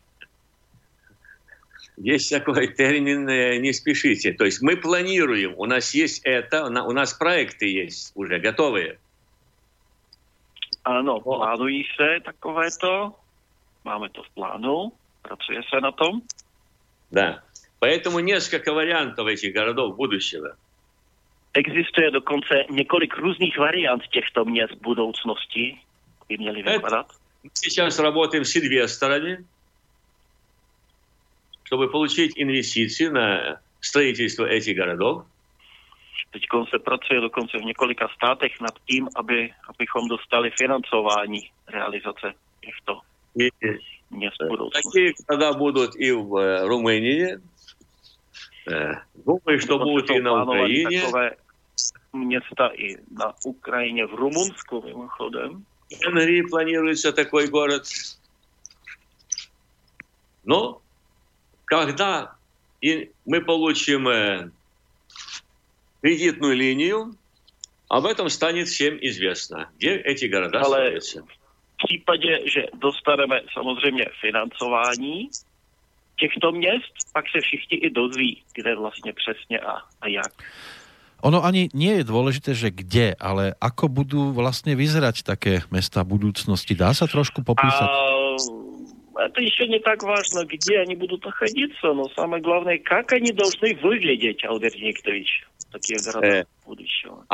Есть такой термин «не спешите». То есть мы планируем, у нас есть это, у нас проекты есть уже готовые. Ano, plánují se takovéto, máme to v plánu, pracuje se na tom. Да, поэтому несколько вариантов этих городов будущего. Existuje dokonce několik různých variant těchto měst budoucnosti, by měly vypadat. Мы сейчас работаем с инвесторами, чтобы получить инвестиции на строительство этих городов. Teď se pracuje dokonce v několika státech nad tím, abychom dostali financování realizace těchto měst budoucnosti. Такие города будут и в Румынии. Думаю, что будут и на Украине. Takové města i na Ukrajině, v Rumunsku mimochodem. В Венгрии планируется такой город. Но когда мы получим кредитную линию, об этом станет всем известно, где эти города строятся. V případě, že dostaneme samozřejmě financování těchto měst, pak se všichni i dozví, kde vlastně přesně a jak. Ono ani nie je dôležité, že kde, ale ako budú vlastne vyzerať také mesta budúcnosti. Dá sa trošku popísať? это еще не так важно, где они будут находиться, но самое главное, как они должны выглядеть, Альберт Викторович, такие города будущего.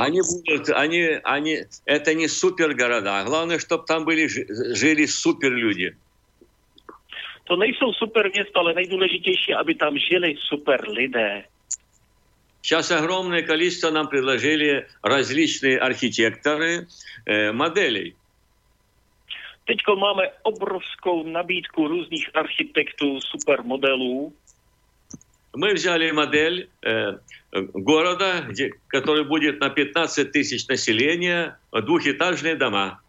Это не супергорода. Главное, чтобы там жили суперлюди. To nejsou super města, ale nejdůležitější, aby tam žili super lidé. Сейчас огромное количество нам предложили различные архитекторы моделей. Teďko máme obrovskou nabídku různých architektů, supermodelů. Мы взяли модель города, который будет на 15 тысяч населения, двухэтажные дома.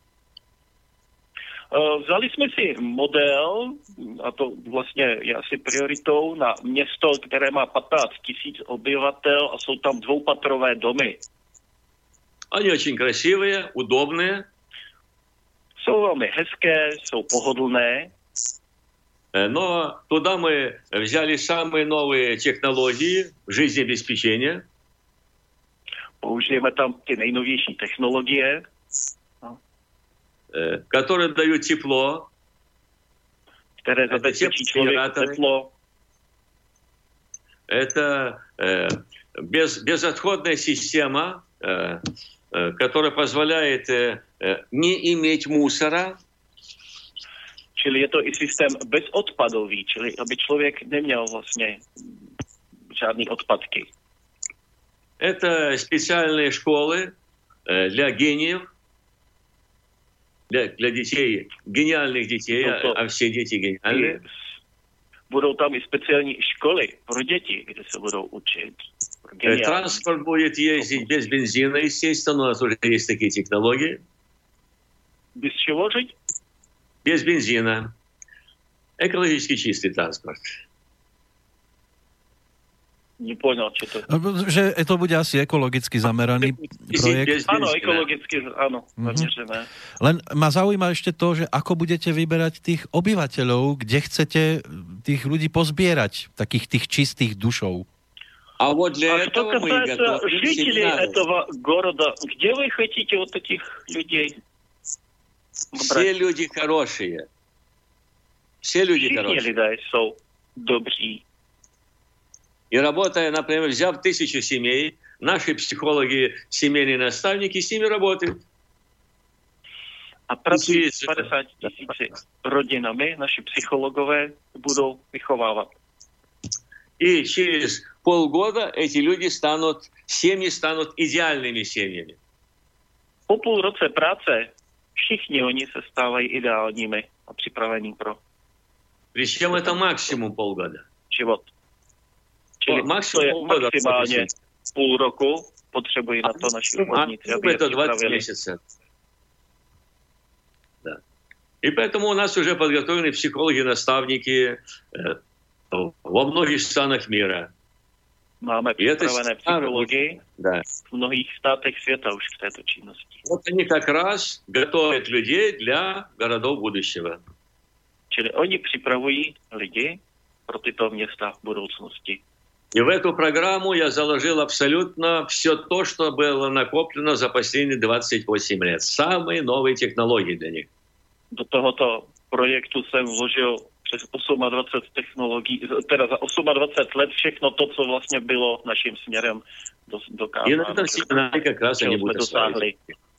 Vzali jsme si model, a to vlastně je asi prioritou, na město, které má 15 000 obyvatel a jsou tam dvoupatrové domy. Они очень красивые, удобные. Jsou velmi hezké, jsou pohodlné. Но туда мы взяли самые новые технологии жизнеобеспечения. Použijeme tam ty nejnovější technologie, которые дают тепло, které zabezpečí člověku teplo. Это безотходная система, которая позволяет не иметь мусора. Čili je to i systém bezodpadový, čili aby člověk neměl vlastně žádný odpadky. Это специальные школы для гениев, для детей, гениальных детей, а все дети гениальные. Budou tam i speciální školy pro děti, kde se budou učit. Транспорт будет ездить без бензина, естественно, у нас уже есть такие технологии. Без чего жить? Без бензина. Экологически чистый транспорт. Nepoňal, čo to... Že to bude asi ekologicky zameraný projekt. Áno, ekologicky, áno. Že ne. Len ma zaujíma ešte to, že ako budete vyberať tých obyvateľov, kde chcete tých ľudí pozbierať, takých tých čistých dušov. А вот для этого мы готовим жители этого города, где вы хотите вот этих людей? Все люди хорошие. Все люди хорошие. Все люди jsou добрі. И работая, например, взяв 1000 семей, наши психологи, семейные наставники с ними работают. A pracují s 50 000 rodinami, naši psychologové budou vychovávat. И через полгода эти люди семьи станут идеальными семьями. Po půl roce práce všichni oni se stávají ideálními a připravení pro Причем это максимум полгода. Život. Čili to je maximálně půl roku, potřebují na to naši umělníci, aby je připravili. Да. И поэтому у нас уже подготовлены психологи-наставники во многих странах мира. Máme připravené psychologi v mnohých státech světa už k této činnosti. Вот они как раз готовят людей для городов будущего. Čili oni připravují lidi pro tyto města v budoucnosti. И в эту программу я заложил абсолютно все то, что было накоплено за последние 28 лет. Самые новые технологии для них. Do tohoto projektu jsem vložil přes 28 technologií, teda za 28 let všechno to, co vlastně bylo naším směrem dokázáno. И на этом семинаре как раз они будут dosáhli.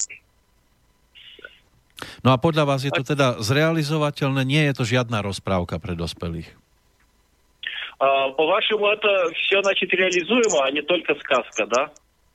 No a podľa vás je to teda zrealizovateľné? Nie je to žiadna rozprávka pre dospelých? По-вашему, это все, значит, реализуемо, а не только сказка, да?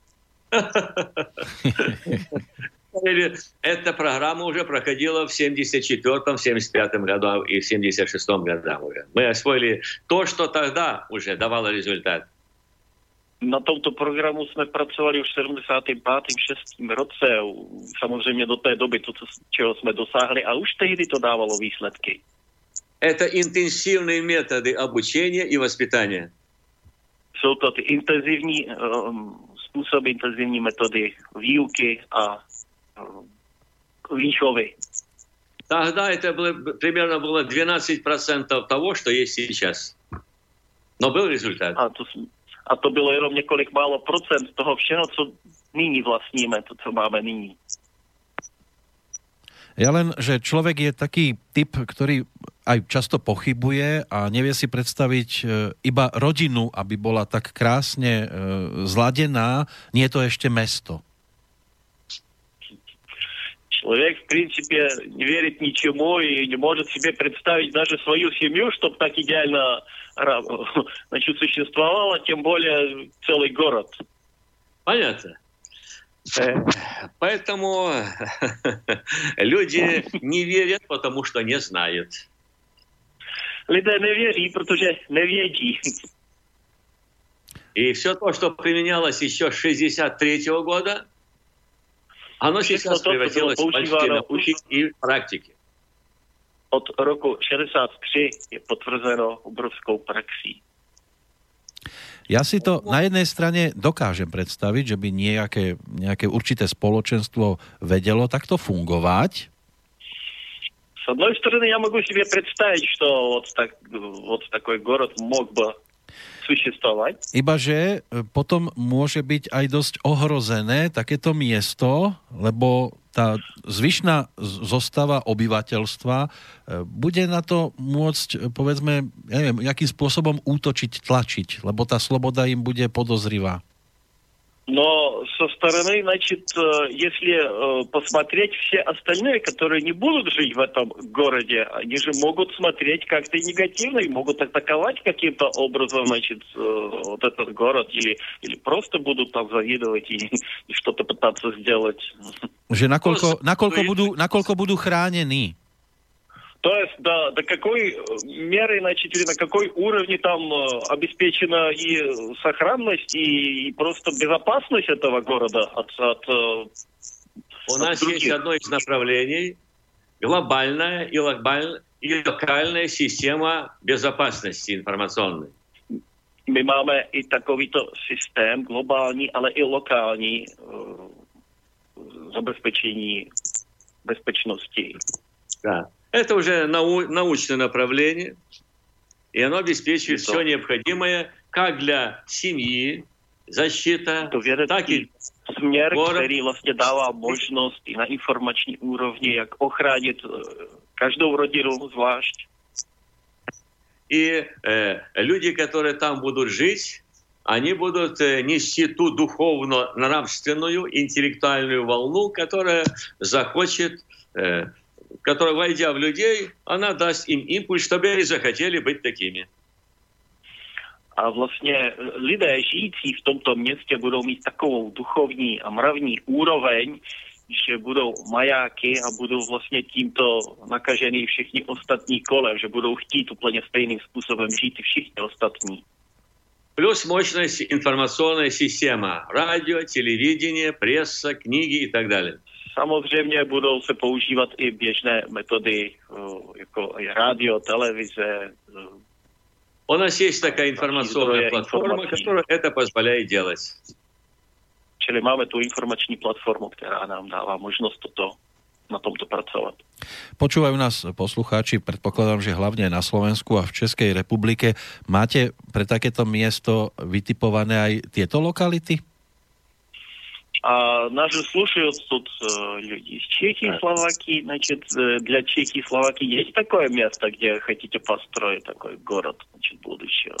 Эта программа уже проходила в 74-м, 75-м году и в 76-м годах уже. Мы освоили то, что тогда уже давало результат. Na tomto programu jsme pracovali už v 75. 6. roce, samozřejmě do té doby, to, čeho jsme dosáhli, a už tehdy to dávalo výsledky. Это интенсивные методы обучения и воспитания. Jsou to ty intenzivní způsoby, intenzivní metody výuky a výchovy. Тогда это примерно было 12% того, что есть сейчас. Но был результат. A to bylo jenom několik málo procent toho všeho, co nyní vlastníme, to, co máme nyní. Ja len, že človek je taký typ, ktorý aj často pochybuje a nevie si predstaviť iba rodinu, aby bola tak krásne zladená, nie je to ešte mesto. Человек, в принципе, не верит ничему и не может себе представить даже свою семью, чтобы так идеально существовала, тем более целый город. Понятно. Поэтому люди не верят, потому что не знают. Lidé nevěří, protože nevědí. И все то, что применялось еще с 1963 года, оно сейчас превратилось в большие науки и практики. Od roku 63 je potvrzeno obrovskou praxí. Ja si to na jednej strane dokážem predstaviť, že by nejaké určité spoločenstvo vedelo takto fungovať. С одной стороны, я могу себе представить, что вот такой город мог бы существовать. Ibaže potom môže byť aj dosť ohrozené takéto miesto, lebo tá zvyšná zostava obyvateľstva bude na to môcť, povedzme, ja neviem, nejakým spôsobom útočiť, tlačiť, lebo tá sloboda im bude podozrivá. Но со стороны, значит, если посмотреть все остальные, которые не будут жить в этом городе, они же могут смотреть как-то негативно и могут атаковать каким-то образом, значит, вот этот город, или просто будут там завидовать и что-то пытаться сделать. Že nakoľko budú chránení? То есть до какой меры, значит, или на какой уровне там обеспечена и сохранность, и просто безопасность этого города от У нас других. есть одно из направлений глобальная и локальная система безопасности информационной. My máme i takovýto systém globální, ale i lokální zabezpečení bezpečnosti. Да. Это уже научное направление, и оно обеспечивает все необходимое как для семьи, защита, так и směr, город. který vlastně dává možnost i na informační úrovni, jak ochránit každou rodinu zvlášť. И люди, которые там будут жить, они будут нести ту духовно-нравственную, интеллектуальную волну, которая захочет, которая, войдя в людей, она даст им импульс, чтобы они захотели быть такими. A vlastně lidé žijící v tomto městě budou mít takovou duchovní a mravní úroveň, že budou majáky a budou vlastně tímto nakažený všichni ostatní kolem, že budou chtít úplně stejným způsobem žít i všichni ostatní. Плюс мощная информационная система. Радио, телевидение, пресса, книги и так далее. Samozřejmě budou se používat i běžné metody, jako rádio, televize. У нас есть такая информационная платформа, которая это позволяет делать. Čili máme tu informační platformu, která nám dává možnost na tomto pracovat. Počúvajú nás poslucháči, predpokladám, že hlavne na Slovensku a v Českej republike. Máte pre takéto miesto vytipované aj tieto lokality? А нас же слушают тут люди из Чехии, Словакии. Значит, для Чехии и Словакии есть такое место, где хотите построить такой город, значит, будущего?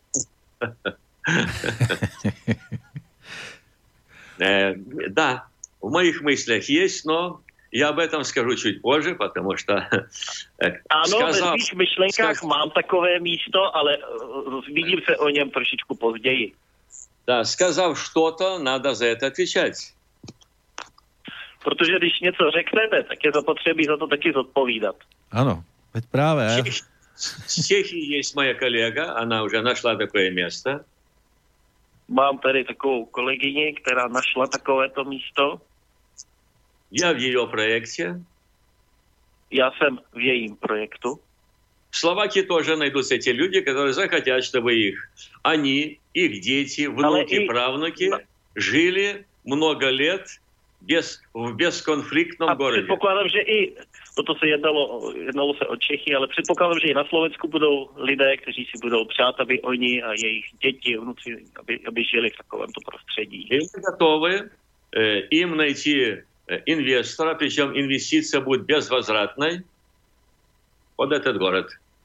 Да, в моих мыслях есть, но я об этом скажу чуть позже, потому что... Ano, ve svých myšlenkách mám takové místo, ale zmíním se o něm trošičku později. Да, сказав что-то, надо за это отвечать. Protože když něco řeknete, tak je zapotřebí za to taky zodpovídat. Ano, veď práve. В Чехии есть моя коллега, она уже нашла такое место. Mám tady takovou kolegyni, která našla takovéto místo. Я в ее проекте. Já jsem v jejím projektu. В Словакии тоже найдутся те люди, которые захотят, чтобы они, их дети, внуки, правнуки жили много лет в безконфliktном городе. Předpokládám, že i, toto se jednalo se o Čechy, ale předpokládám, že i na Slovensku budou lidé, kteří si budou přát, aby oni a jejich děti, vnuci, aby žili v takovémto prostředí. И мы готовы им найти инвестора, причем инвестиция будет безвозвратной, под этот город.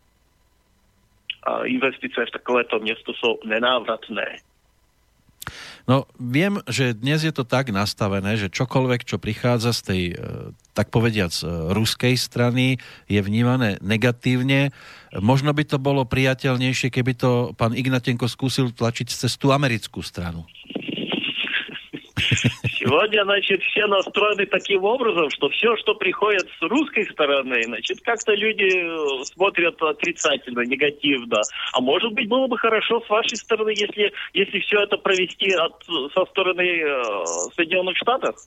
A investície v takovéto miesto sú nenávratné. No, viem, že dnes je to tak nastavené, že čokoľvek, čo prichádza z tej, tak povediac, ruskej strany, je vnímané negatívne. Možno by to bolo priateľnejšie, keby to pán Ignatenko skúsil tlačiť cez tú americkú stranu. Сегодня, значит, все настроены таким образом, что все, что приходит с русской стороны, значит, как-то люди смотрят отрицательно, негативно. А может быть, было бы хорошо с вашей стороны, если все это провести со стороны Соединенных Штатов?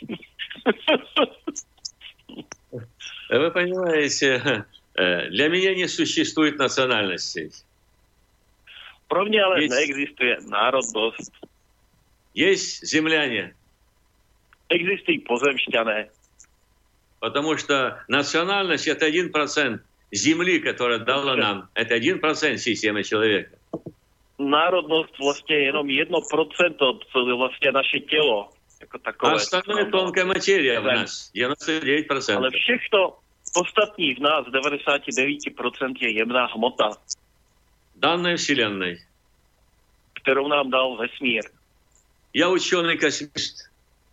Вы понимаете, для меня не существует национальностей. Pro mňa ale neexistuje národnosť. Есть земляне. Existují pozemšťané. Потому что национальность – это 1% земли, которая дала нам. Это 1% системы человека. Národnosť vlastne je jenom 1% vlastne naše telo. Ako takové. А остальное тонкая материя в нас. 99%. Ale všechno ostatní v nás, 99% je jemná hmota. Данная Вселенной. Ktorou nám dal vesmír. Я ученый-космист.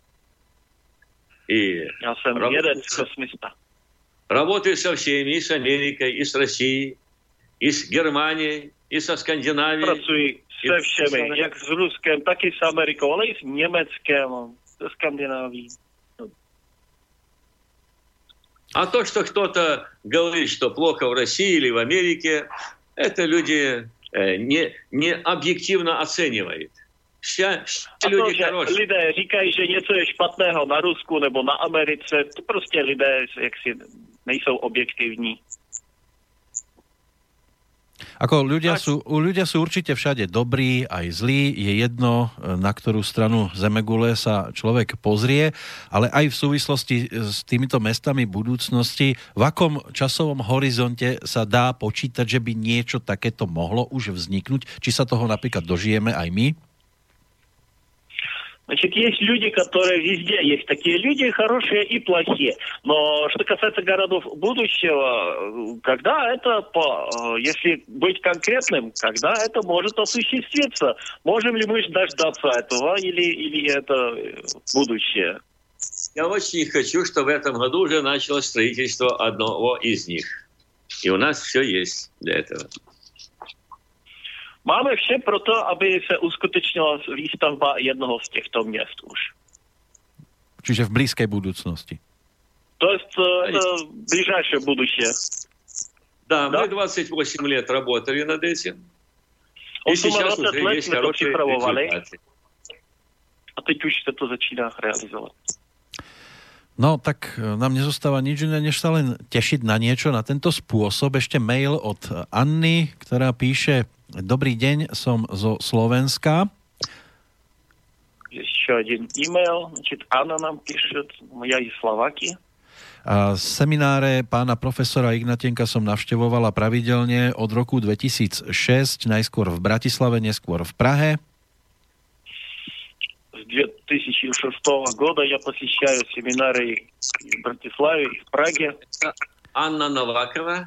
И ja som jeden kosmista. Работаю со всеми, и с Америкой, и с Россией, и с Германией, и со Скандинавией. Pracuji se všemi, jak s Ruskem, tak i s Amerikou, ale i s Německem, se Skandinávií. А то, что кто-то говорит, что плохо в России или в Америке, это люди не объективно оценивают. Ľudia lidé říkají, že něco je špatného na Rusku nebo na Americe, to prostě lidé jaksi nejsou objektivní. Ako ľudia sú určite všade dobrí, aj zlí, je jedno, na ktorú stranu zemegule sa človek pozrie, ale aj v súvislosti s týmito mestami budúcnosti, v akom časovom horizonte sa dá počítať, že by niečo takéto mohlo už vzniknúť, či sa toho napríklad dožijeme aj my? Значит, есть люди, которые везде есть такие люди, хорошие и плохие. Но что касается городов будущего, когда это, если быть конкретным, когда это может осуществиться? Можем ли мы дождаться этого или это будущее? Я очень хочу, чтобы в этом году уже началось строительство одного из них. И у нас все есть для этого. Máme vše proto, aby se uskutečnila výstavba jednoho z těchto měst už. Čiže v blízkej budúcnosti. To jest ближайшее будущее. Да, мы 28 лет работали над этим. И сейчас уже есть хорошие результаты. A teď už se to začíná realizovat. No, tak nám nezostáva nič iné, než sa len tešiť na niečo, na tento spôsob. Ešte mail od Anny, ktorá píše: Dobrý deň, som zo Slovenska. Еще один e-mail. Значит, Анна нам пишет, я из Slováky. Semináre pána profesora Ignatenka som navštevovala pravidelne od roku 2006, najskôr v Bratislave, neskôr v Prahe. С 2006 года я посещаю семинары в Братиславе и в Праге. Анна Новакова.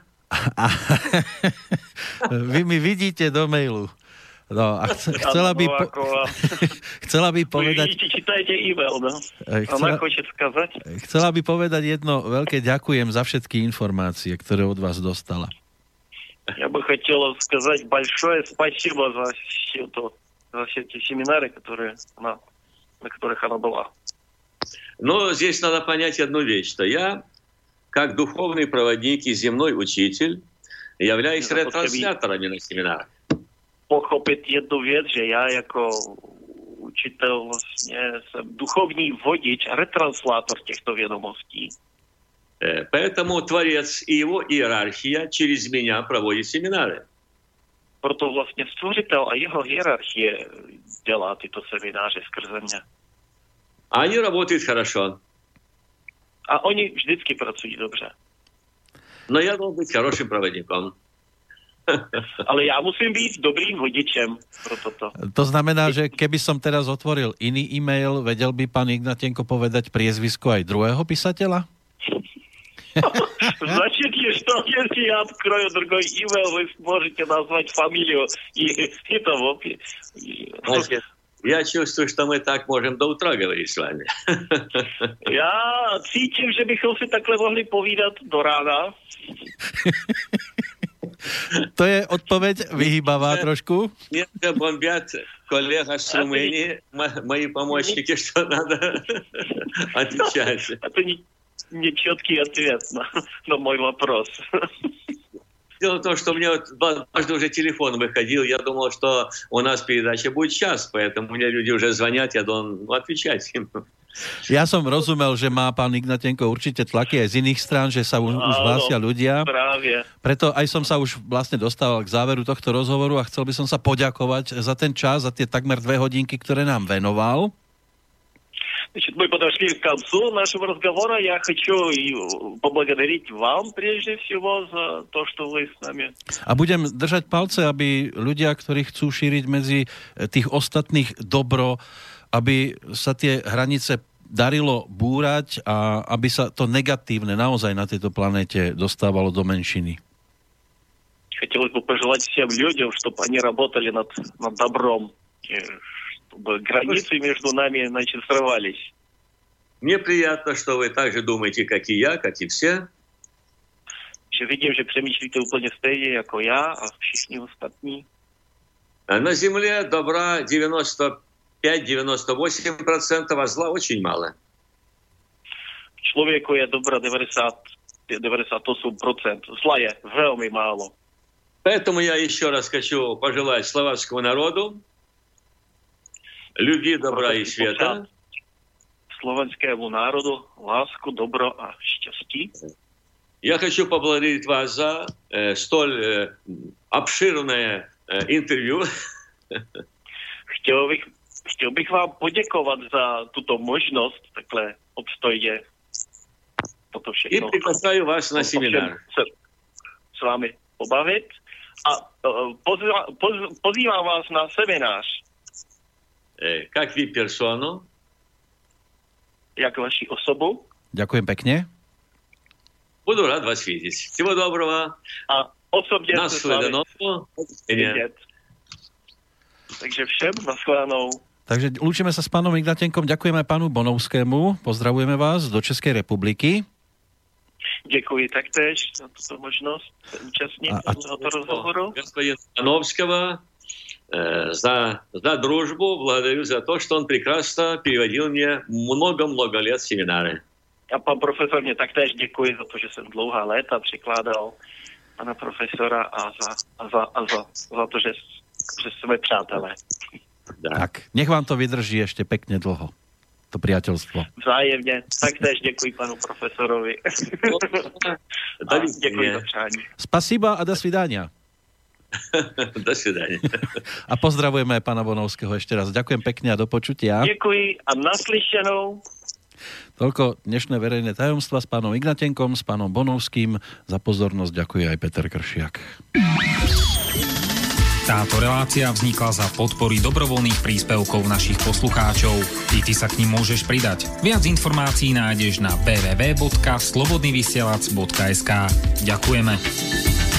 Vy mi vidíte do mailu. No, a chcela by povedať... Vidíte, čítajte e-mail, no? Ona chce skazať. Chcela by povedať jedno veľké ďakujem za všetky informácie, ktoré od vás dostala. Я бы хотела сказать большое спасибо за все эти семинары, на которых она была. Но здесь надо понять одну вещь, что я как духовный проводник и земной учитель, являюсь ретрансляторами на семинарах. Pochopit jednu věc, že já jako učitel vlastně jsem duchovní vodič, retranslátor těchto vědomostí. Поэтому Творец и его иерархия через меня проводит семинары. Proto vlastně Stvořitel a jeho hierarchie dělá tyto semináře skrze mě. Они работают хорошо. A oni vždycky pracují dobře. Но я должен быть хорошим проводником. Ale ja musím byť dobrým vodičem pro toto. To znamená, že keby som teraz otvoril iný e-mail, vedel by pán Ignatenko povedať priezvisko aj druhého písateľa? Значит, что если я открою другой email, вы сможете назвать фамилию и того. Значит, я чувствую, что мы так можем до утра говорить с вами. Já cítím, že bychom si takhle mohli povídat do rána. To je odpoveď vyhýbavá trošku. Нет, бомбят коллега с Румынии, мои помощники, что надо отвечать. Это нечеткий ответ на мой вопрос. Дело в том, что мне дважды уже телефон выходил, я думал, что у нас передача будет час, поэтому мне люди уже звонят, я должен отвечать им. Ja som rozumel, že má pán Ignatenko určite tlaky aj z iných strán, že sa už hlásia ľudia. Právě. Preto aj som sa už vlastne dostával k záveru tohto rozhovoru a chcel by som sa poďakovať za ten čas, za tie takmer 2 hodinky, ktoré nám venoval. Значит, мы подошли к концу нашего разговора. Я хочу поблагодарить вам прежде всего за то, что вы с нами. A budem držať palce, aby ľudia, ktorí chcú šíriť medzi tých ostatných dobro, aby sa tie hranice darilo búrať a aby sa to negatívne naozaj na tejto planéte dostávalo do menšiny. Хотелось бы пожелать всем людям, чтобы они работали над добром, чтобы границы между нами, значит, срывались. Мне приятно, что вы так же думаете, как и я, как и все. Видим, že přemýšlíte úplně stejně jako já a všichni ostatní. На Земле добра 95-98%, а зла очень мало. Člověku je dobra 98%, zla je velmi málo. Поэтому я еще раз хочу пожелать словацкому народу любви, добра и света. Slovenskému národu lásku, dobro a štěstí. Я хочу поблагодарить вас за столь обширное интервью. Chtěl bych vám poděkovat za tuto možnost takhle obstojně toto všechno. И приглашаю вас на семинар. S vámi pobavit a pozývám vás na seminář. Как VIP-персону. Jak vaši osobu. Ďakujem pekne. Буду рад вас видеть. Всего доброго. A osobně se s vámi vidět. Takže všem nashledanou. Takže lúčime sa s pánom Ignatenkom, ďakujeme pánu Bonovskému, pozdravujeme vás do Českej republiky. Děkuji taktéž za tuto možnost se účastnit tohoto rozhovoru. Господина Боновского за дружбу, благодарю за то, что он прекрасно переводил мне много-много лет семинары. A pan profesor mě taktéž děkuji za to, že jsem dlouhá léta přikládal pana profesora a za to, že jsme přátelé. Tak, nech vám to vydrží ešte pekne dlho, to priateľstvo. Vzájemně, taktéž děkuji panu profesorovi. A děkuji za přání. Spasiba a do svidania. Do svidania. A pozdravujeme pána Bonovského ešte raz. Ďakujem pekne a do počutia. Děkuji a naslyšenou. Toľko dnešné verejné tajomstva s pánom Ignatenkom, s pánom Bonovským. Za pozornosť ďakuje aj Peter Kršiak. Táto relácia vznikla za podpory dobrovoľných príspevkov našich poslucháčov. I ty sa k nim môžeš pridať. Viac informácií nájdeš na www.slobodnyvysielac.sk. Ďakujeme.